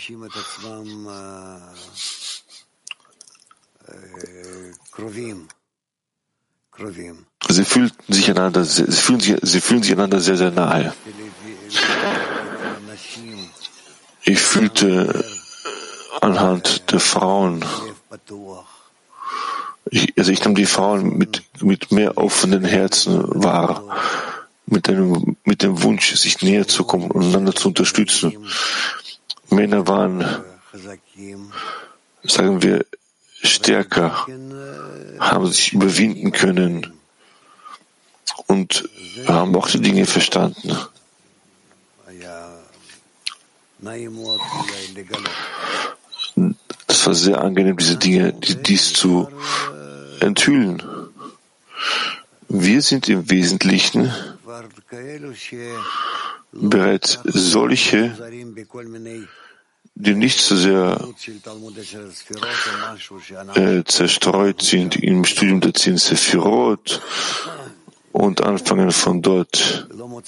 Speaker 7: Sie fühlten sich einander, sie fühlen sich, sie fühlen sich einander sehr, sehr nahe. Ich fühlte anhand der Frauen, ich, also ich nahm die Frauen mit, mit mehr offenen Herzen wahr, mit einem, mit dem Wunsch, sich näher zu kommen und einander zu unterstützen. Männer waren, sagen wir, stärker, haben sich überwinden können und haben auch die Dinge verstanden. Das war sehr angenehm, diese Dinge, dies zu enthüllen. Wir sind im Wesentlichen bereits solche, die nicht so sehr äh, zerstreut sind im Studium der zehn Sephirot und anfangen von dort,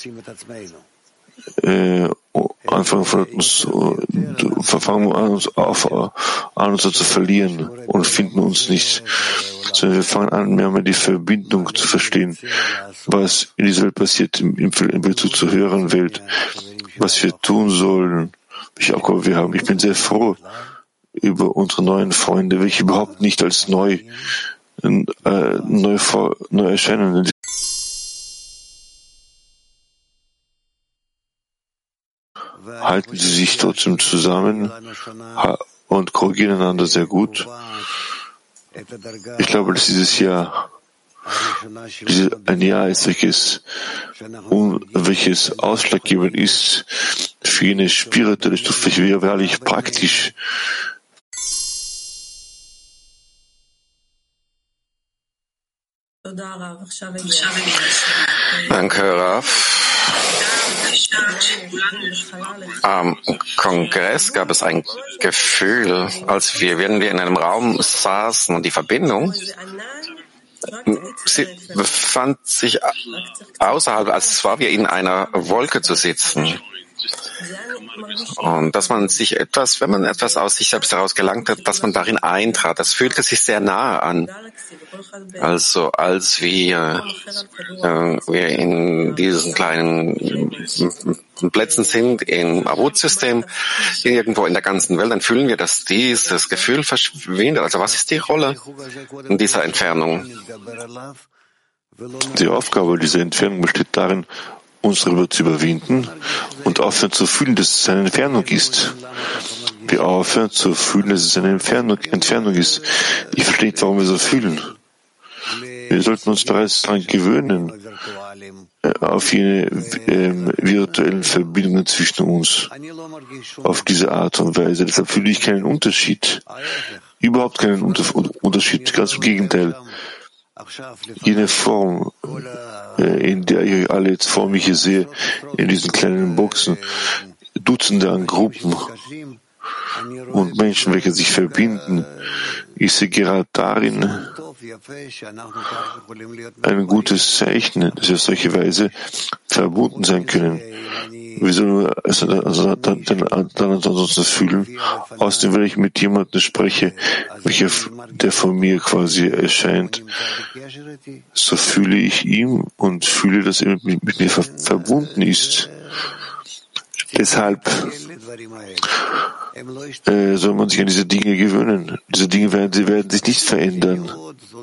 Speaker 7: äh, anfangen von uns, fangen an uns auf, an uns zu verlieren und finden uns nicht, sondern wir fangen an, mehr und mehr die Verbindung zu verstehen, was in dieser Welt passiert, im, im Bezug zur höheren Welt, was wir tun sollen, welche Aufgabe wir haben. Ich bin sehr froh über unsere neuen Freunde, welche überhaupt nicht als neu, äh, neu, neu erscheinen. Halten Sie sich trotzdem zusammen und korrigieren einander sehr gut. Ich glaube, dass dieses Jahr ein Jahr ist, welches, um, welches ausschlaggebend ist für jene spirituelle Stufe, welche wir wahrlich praktisch
Speaker 6: Danke, Raf. Am Kongress gab es ein Gefühl, als wir, während wir in einem Raum saßen und die Verbindung, sie befand sich außerhalb, als war wir in einer Wolke zu sitzen. Und dass man sich etwas, wenn man etwas aus sich selbst heraus gelangt hat, dass man darin eintrat, das fühlte sich sehr nahe an. Also als wir, äh, wir in diesen kleinen Plätzen sind im Arut-System, irgendwo in der ganzen Welt, dann fühlen wir, dass dieses Gefühl verschwindet. Also was ist die Rolle in dieser Entfernung?
Speaker 7: Die Aufgabe dieser Entfernung besteht darin, uns darüber zu überwinden und aufhören zu fühlen, dass es eine Entfernung ist. Wir aufhören zu fühlen, dass es eine Entfernung, Entfernung ist. Ich verstehe nicht, warum wir so fühlen. Wir sollten uns bereits daran gewöhnen, auf jene äh, virtuellen Verbindungen zwischen uns, auf diese Art und Weise. Deshalb fühle ich keinen Unterschied. Überhaupt keinen Unter- Unterschied. Ganz im Gegenteil. Jene Form, in der ich euch alle jetzt vor mich hier sehe, in diesen kleinen Boxen, Dutzende an Gruppen und Menschen, welche sich verbinden, ich sehe gerade darin ein gutes Zeichen, dass wir auf solche Weise verbunden sein können. Wir sollen es also dann, dann, dann ansonsten fühlen. Außerdem, wenn ich mit jemandem spreche, welcher, der von mir quasi erscheint, so fühle ich ihn und fühle, dass er mit, mit mir ver, verbunden ist. Deshalb äh, soll man sich an diese Dinge gewöhnen. Diese Dinge werden, sie werden sich nicht verändern.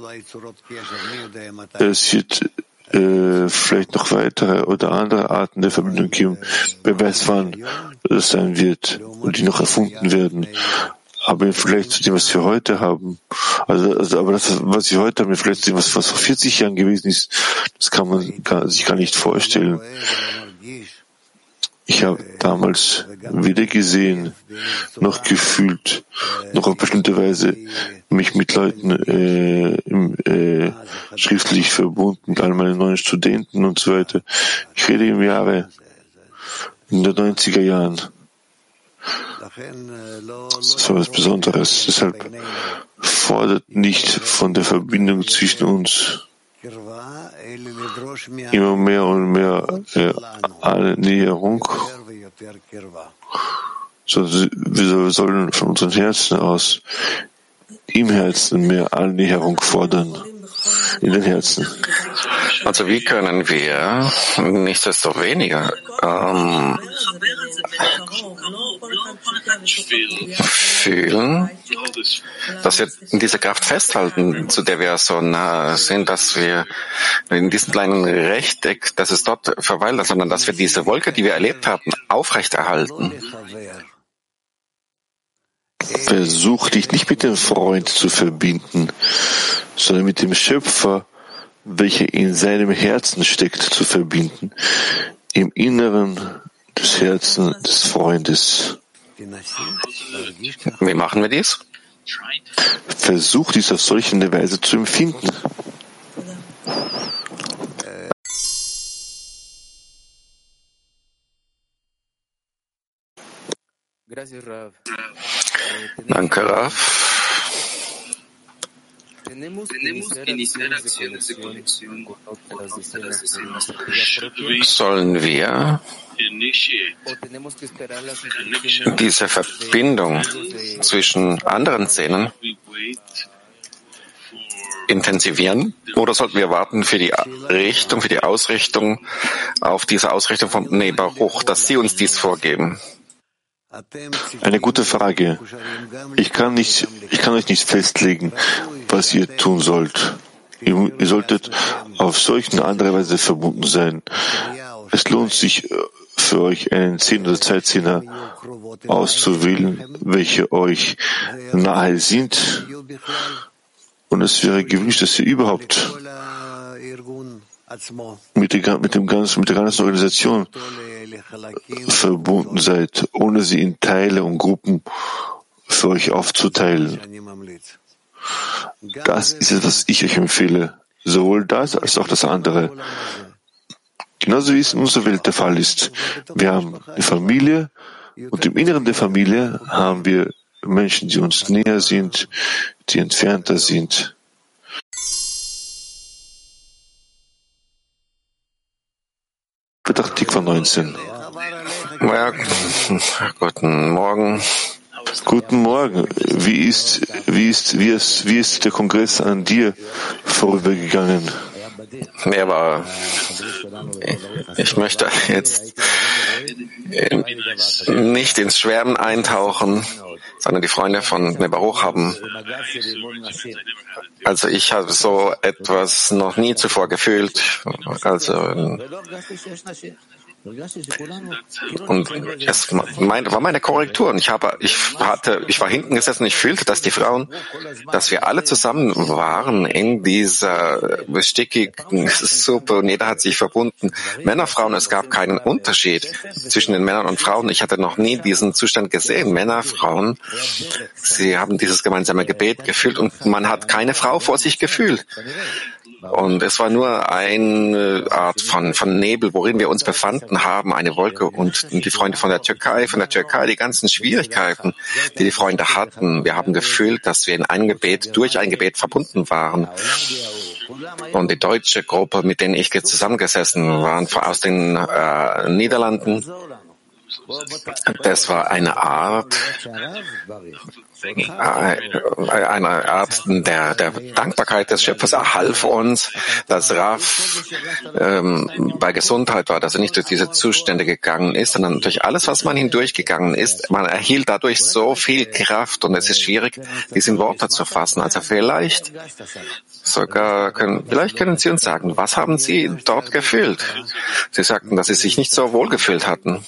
Speaker 7: Es wird äh, vielleicht noch weitere oder andere Arten der Verbindung geben. Wer weiß, wann das sein wird und die noch erfunden werden. Aber im Vergleich zu dem, was wir heute haben, also, also aber das, was wir heute haben, im Vergleich zu dem, was, was vor vierzig Jahren gewesen ist, das kann man gar, sich gar nicht vorstellen. Ich habe damals weder gesehen, noch gefühlt, noch auf bestimmte Weise mich mit Leuten äh, im, äh, schriftlich verbunden, mit all meinen neuen Studenten und so weiter. Ich rede im Jahre in den neunziger Jahren. Das war was Besonderes. Deshalb fordert nicht von der Verbindung zwischen uns immer mehr und mehr äh, Annäherung. So, wir sollen von unseren Herzen aus im Herzen mehr Annäherung fordern. In den Herzen.
Speaker 6: Also wie können wir nichtsdestoweniger ähm, fühlen, dass wir in dieser Kraft festhalten, zu der wir so nah sind, dass wir in diesem kleinen Rechteck, dass es dort verweilt, sondern dass wir diese Wolke, die wir erlebt haben, aufrechterhalten.
Speaker 7: Versuch dich nicht mit dem Freund zu verbinden, sondern mit dem Schöpfer, welcher in seinem Herzen steckt, zu verbinden, im Inneren des Herzens des Freundes.
Speaker 6: Wie machen wir dies?
Speaker 7: Versuch dies auf solche Weise zu empfinden.
Speaker 6: Danke, Rav. Sollen wir diese Verbindung zwischen anderen Szenen intensivieren oder sollten wir warten für die Richtung, für die Ausrichtung auf diese Ausrichtung von Bnei Baruch, dass sie uns dies vorgeben?
Speaker 7: Eine gute Frage. Ich kann nicht, ich kann euch nicht festlegen, was ihr tun sollt. Ihr, ihr solltet auf solch eine andere Weise verbunden sein. Es lohnt sich für euch, einen Zehner oder Zeitzehner auszuwählen, welche euch nahe sind. Und es wäre gewünscht, dass ihr überhaupt mit, der, mit, dem ganzen, mit der ganzen Organisation verbunden seid, ohne sie in Teile und Gruppen für euch aufzuteilen. Das ist es, was ich euch empfehle. Sowohl das als auch das andere. Genauso wie es in unserer Welt der Fall ist. Wir haben eine Familie und im Inneren der Familie haben wir Menschen, die uns näher sind, die entfernter sind. Petach Tikva neunzehn.
Speaker 6: Ja, guten Morgen.
Speaker 7: Guten Morgen. Wie ist, wie ist, wie ist, wie ist der Kongress an dir vorübergegangen?
Speaker 6: Er war, ich möchte jetzt nicht ins Schwärmen eintauchen, sondern die Freunde von Bnei Baruch haben, also ich habe so etwas noch nie zuvor gefühlt, also und es war meine Korrektur. Und ich habe, ich hatte, ich war hinten gesessen und ich fühlte, dass die Frauen, dass wir alle zusammen waren in dieser bestickigen Suppe und jeder hat sich verbunden. Männer, Frauen, es gab keinen Unterschied zwischen den Männern und Frauen. Ich hatte noch nie diesen Zustand gesehen. Männer, Frauen, sie haben dieses gemeinsame Gebet gefühlt und man hat keine Frau vor sich gefühlt. Und es war nur eine Art von, von Nebel, worin wir uns befanden haben, eine Wolke. Und die Freunde von der Türkei, von der Türkei, die ganzen Schwierigkeiten, die die Freunde hatten. Wir haben gefühlt, dass wir in ein Gebet, durch ein Gebet verbunden waren. Und die deutsche Gruppe, mit denen ich zusammengesessen war, aus den äh, Niederlanden, das war eine Art, eine Art der, der Dankbarkeit des Schöpfers. Er half uns, dass Rav ähm, bei Gesundheit war, dass er nicht durch diese Zustände gegangen ist, sondern durch alles, was man hindurchgegangen ist. Man erhielt dadurch so viel Kraft und es ist schwierig, dies in Worte zu fassen. Also vielleicht sogar können, vielleicht können Sie uns sagen, was haben Sie dort gefühlt? Sie sagten, dass Sie sich nicht so wohl gefühlt hatten.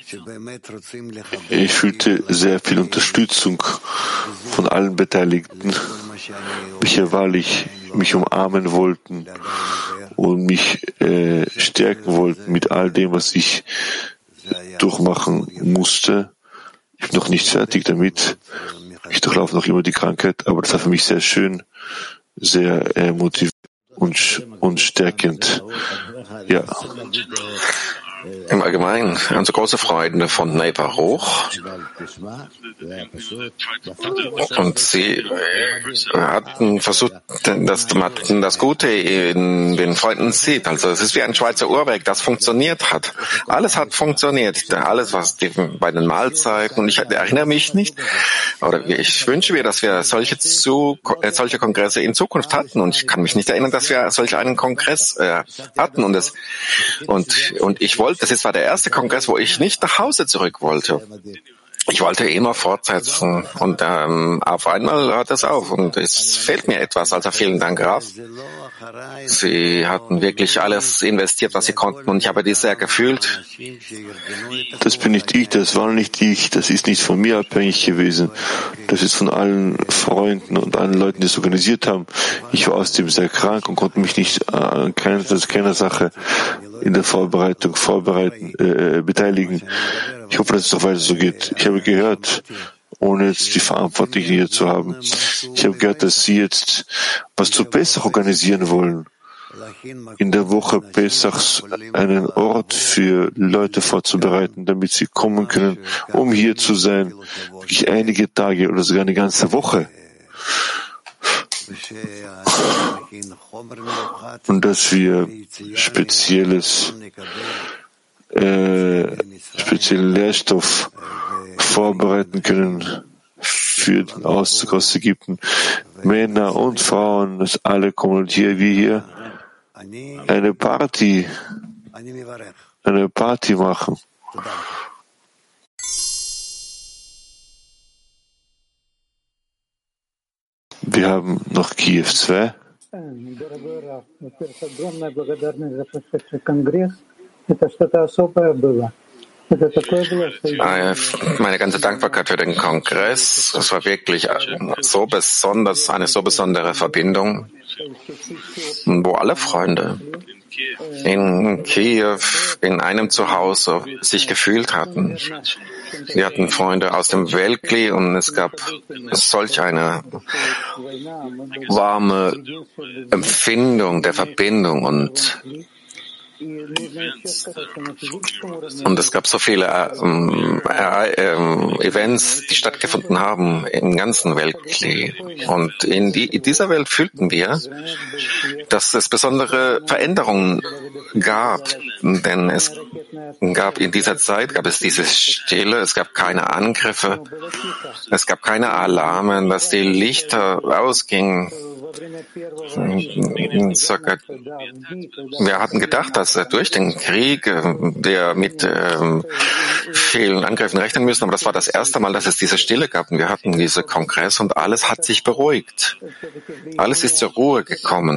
Speaker 7: Ich fühlte sehr viel Unterstützung von allen Beteiligten, welche wahrlich mich umarmen wollten und mich äh, stärken wollten mit all dem, was ich durchmachen musste. Ich bin noch nicht fertig damit. Ich durchlaufe noch immer die Krankheit, aber das war für mich sehr schön, sehr äh, motivierend und, und stärkend. Ja.
Speaker 6: Im Allgemeinen, unsere große Freunde von Bnei Baruch, und sie hatten versucht, dass man das Gute in den Freunden sieht. Also es ist wie ein Schweizer Uhrwerk, das funktioniert hat. Alles hat funktioniert. Alles, was die, bei den Mahlzeiten, und ich erinnere mich nicht, oder ich wünsche mir, dass wir solche, zu, solche Kongresse in Zukunft hatten. Und ich kann mich nicht erinnern, dass wir solch einen Kongress äh, hatten. Und, es, und, und ich wollte, das ist war der erste Kongress, wo ich nicht nach Hause zurück wollte. Ich wollte immer fortsetzen und ähm, auf einmal hört es auf und es fehlt mir etwas. Also vielen Dank, Rav. Sie hatten wirklich alles investiert, was sie konnten und ich habe dies sehr gefühlt.
Speaker 7: Das bin nicht ich, das war nicht ich, das ist nicht von mir abhängig gewesen. Das ist von allen Freunden und allen Leuten, die es organisiert haben. Ich war außerdem sehr krank und konnte mich nicht an keiner, keiner Sache in der Vorbereitung vorbereiten, äh, beteiligen. Ich hoffe, dass es auch weiter so geht. Ich habe gehört, ohne jetzt die Verantwortlichen hier zu haben, ich habe gehört, dass Sie jetzt was zu besser organisieren wollen. in der Woche Pesachs einen Ort für Leute vorzubereiten, damit sie kommen können, um hier zu sein, wirklich einige Tage oder sogar eine ganze Woche. Und dass wir spezielles, äh, speziellen Lehrstoff vorbereiten können für den Auszug aus Ägypten. Männer und Frauen, dass alle kommen und hier, wie hier, eine Party, eine Party machen. Wir haben noch Kiew zwei.
Speaker 6: Meine ganze Dankbarkeit für den Kongress. Es war wirklich so besonders, eine so besondere Verbindung, wo alle Freunde in Kiew in einem Zuhause sich gefühlt hatten. Wir hatten Freunde aus dem Weltkli und es gab solch eine warme Empfindung der Verbindung und Und es gab so viele ähm, äh, Events, die stattgefunden haben im ganzen Weltkli. Und in, die, in dieser Welt fühlten wir, dass es besondere Veränderungen gab. Denn es gab in dieser Zeit, gab es diese Stille, es gab keine Angriffe, es gab keine Alarme, dass die Lichter ausgingen. Wir hatten gedacht, dass durch den Krieg wir mit ähm, vielen Angriffen rechnen müssen, aber das war das erste Mal, dass es diese Stille gab. Und wir hatten diese Kongress und alles hat sich beruhigt. Alles ist zur Ruhe gekommen.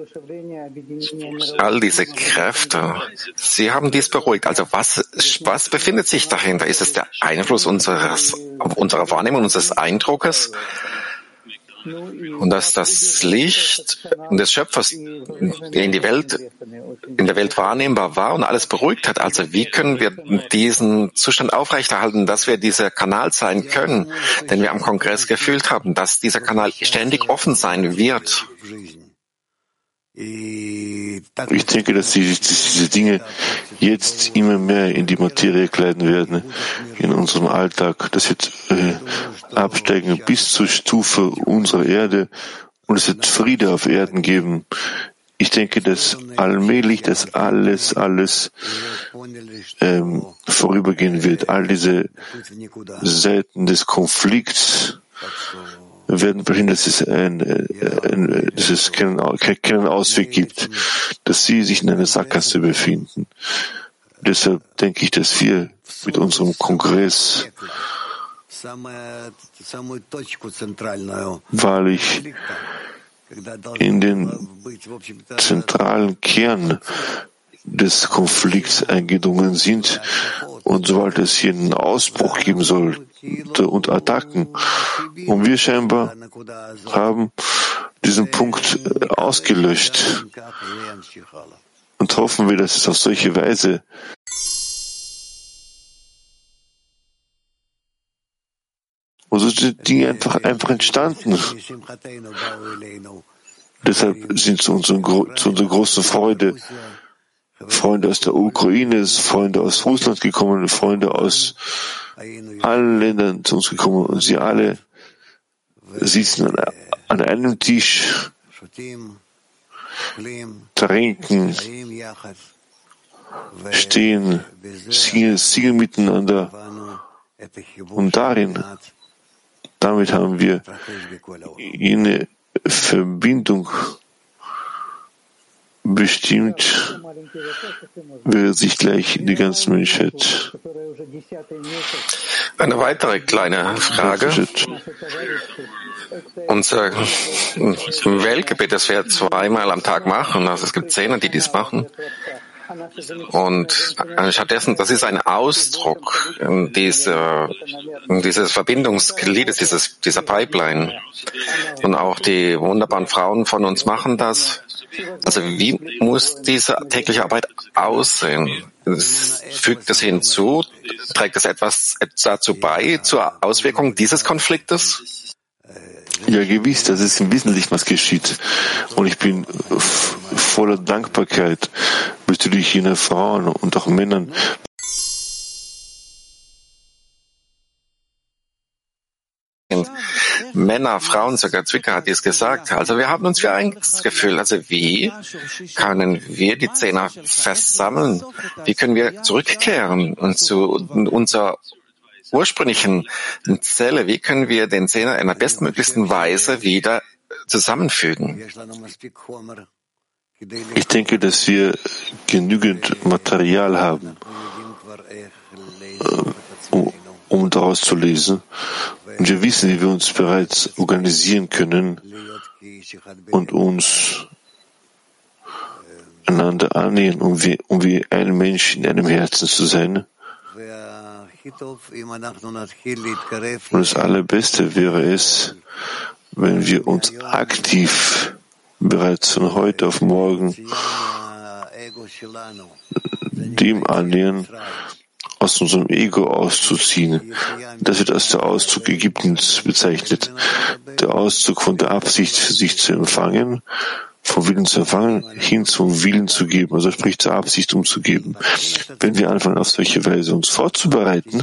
Speaker 6: All diese Kräfte, sie haben dies beruhigt. Also was, was befindet sich dahinter? Ist es der Einfluss unseres, unserer Wahrnehmung, unseres Eindruckes? Und dass das Licht des Schöpfers in die Welt, in der Welt wahrnehmbar war und alles beruhigt hat. Also wie können wir diesen Zustand aufrechterhalten, dass wir dieser Kanal sein können, den wir am Kongress gefühlt haben, dass dieser Kanal ständig offen sein wird?
Speaker 7: Ich denke, dass diese, diese Dinge jetzt immer mehr in die Materie kleiden werden, in unserem Alltag, das wird äh, absteigen bis zur Stufe unserer Erde und es wird Friede auf Erden geben. Ich denke, dass allmählich das alles, alles ähm, vorübergehen wird. All diese Seiten des Konflikts werden verhindern, dass es, ein, ein, dass es keinen, keinen Ausweg gibt, dass sie sich in einer Sackgasse befinden. Deshalb denke ich, dass wir mit unserem Kongress wahrlich in den zentralen Kern des Konflikts eingedrungen sind und sobald es hier einen Ausbruch geben sollte und Attacken und wir scheinbar haben diesen Punkt ausgelöscht und hoffen wir, dass es auf solche Weise und so sind Dinge einfach, einfach entstanden. Deshalb sind zu, unseren, zu unserer großen Freude Freunde aus der Ukraine, Freunde aus Russland gekommen, Freunde aus allen Ländern zu uns gekommen und sie alle sitzen an, an einem Tisch, trinken, stehen, singen, singen miteinander und darin, damit haben wir eine Verbindung bestimmt, wird sich gleich die ganze Menschheit.
Speaker 6: Eine weitere kleine Frage. Unser Weltgebet, das wir zweimal am Tag machen, also es gibt Zehner, die dies machen. Und stattdessen, das ist ein Ausdruck dieser, dieses Verbindungsgliedes, dieses, dieser Pipeline. Und auch die wunderbaren Frauen von uns machen das. Also wie muss diese tägliche Arbeit aussehen? Es fügt es hinzu? Trägt es etwas dazu bei, zur Auswirkung dieses Konfliktes?
Speaker 7: Ja, gewiss, das ist im Wesentlichen, was geschieht. Und ich bin voller Dankbarkeit bezüglich jener Frauen und auch Männern.
Speaker 6: Männer, Frauen, sogar Zwicker hat dies gesagt. Also wir haben uns für eins gefühlt. Also wie können wir die Zehner versammeln? Wie können wir zurückkehren und zu unserer ursprünglichen Zelle? Wie können wir den Zehner in der bestmöglichsten Weise wieder zusammenfügen?
Speaker 7: Ich denke, dass wir genügend Material haben, um, um daraus zu lesen. Und wir wissen, wie wir uns bereits organisieren können und uns einander annähern, um wie, um wie ein Mensch in einem Herzen zu sein. Und das Allerbeste wäre es, wenn wir uns aktiv bereits von heute auf morgen dem annähern, aus unserem Ego auszuziehen. Das wird als der Auszug Ägyptens bezeichnet. Der Auszug von der Absicht, sich zu empfangen, vom Willen zu empfangen, hin zum Willen zu geben, also sprich zur Absicht umzugeben. Wenn wir anfangen, auf solche Weise uns vorzubereiten,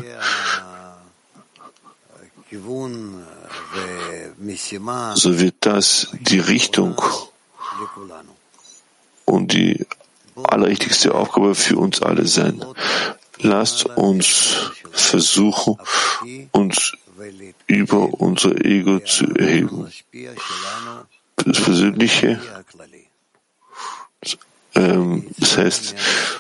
Speaker 7: so wird das die Richtung und die allerwichtigste Aufgabe für uns alle sein. Lasst uns versuchen, uns über unser Ego zu erheben. Das Persönliche, ähm, das heißt,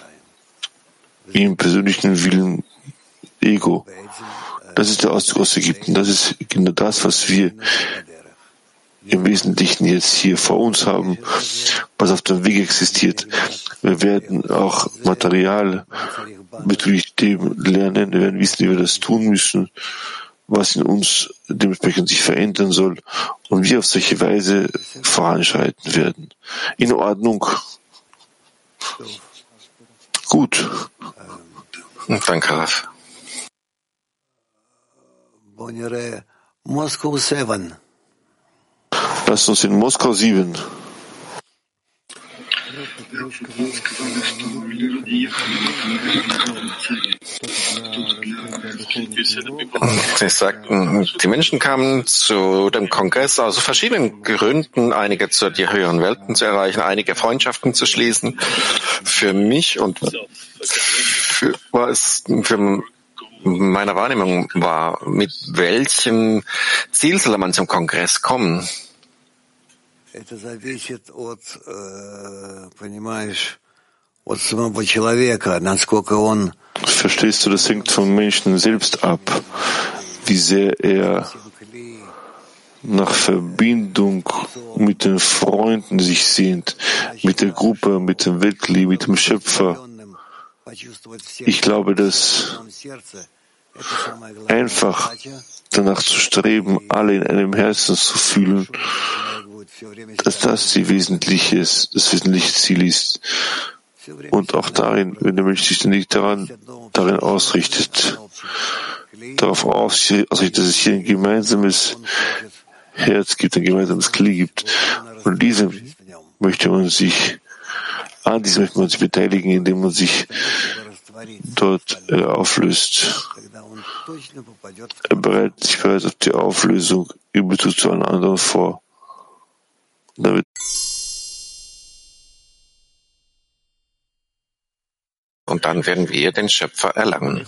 Speaker 7: im persönlichen Willen Ego. Das ist der Auszug aus Ägypten. Das ist genau das, was wir im Wesentlichen jetzt hier vor uns haben, was auf dem Weg existiert. Wir werden auch Material bezüglich dem lernen, wir werden wissen, wie wir das tun müssen, was in uns dementsprechend sich verändern soll und wie auf solche Weise voranschreiten werden. In Ordnung. Gut.
Speaker 6: Danke, Raf.
Speaker 7: Lass uns in Moskau sieben.
Speaker 6: Sie sagten, die Menschen kamen zu dem Kongress aus verschiedenen Gründen, einige zu die höheren Welten zu erreichen, einige Freundschaften zu schließen. Für mich und für, war es für meine Wahrnehmung war, mit welchem Ziel soll man zum Kongress kommen?
Speaker 7: Verstehst du, das hängt vom Menschen selbst ab, wie sehr er nach Verbindung mit den Freunden sich sehnt, mit der Gruppe, mit dem Weltkli, mit dem Schöpfer. Ich glaube, dass einfach danach zu streben, alle in einem Herzen zu fühlen, dass das die wesentliche, das wesentliche Ziel ist. Und auch darin, wenn der Mensch sich ständig daran, darin ausrichtet, darauf ausrichtet, dass es hier ein gemeinsames Herz gibt, ein gemeinsames Kli gibt. Und diesem möchte man sich, an diesem möchte man sich beteiligen, indem man sich dort äh, auflöst. Er bereitet sich bereits auf die Auflösung über zu einem anderen vor. Damit
Speaker 6: und dann werden wir den Schöpfer erlangen.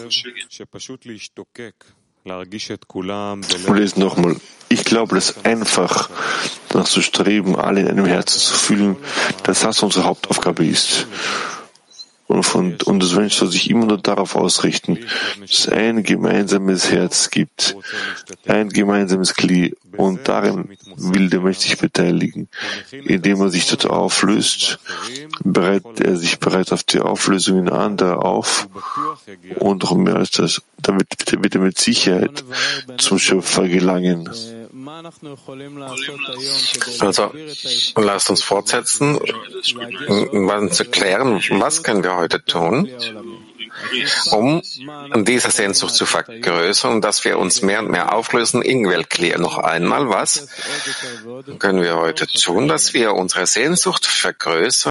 Speaker 7: Und lesen nochmal. Ich glaube, dass einfach danach zu streben, alle in einem Herzen zu fühlen, dass das unsere Hauptaufgabe ist. Und, von, und das Mensch soll sich immer nur darauf ausrichten, dass es ein gemeinsames Herz gibt, ein gemeinsames Kli, und darin will der Mensch sich beteiligen. Indem er sich dort auflöst, bereitet er sich bereits auf die Auflösung in anderer auf, und noch mehr als das, damit wird er mit Sicherheit zum Schöpfer gelangen.
Speaker 6: Also, lasst uns fortsetzen, um zu klären, was können wir heute tun, um diese Sehnsucht zu vergrößern und dass wir uns mehr und mehr auflösen. Ingwell, klär noch einmal, was können wir heute tun, dass wir unsere Sehnsucht vergrößern?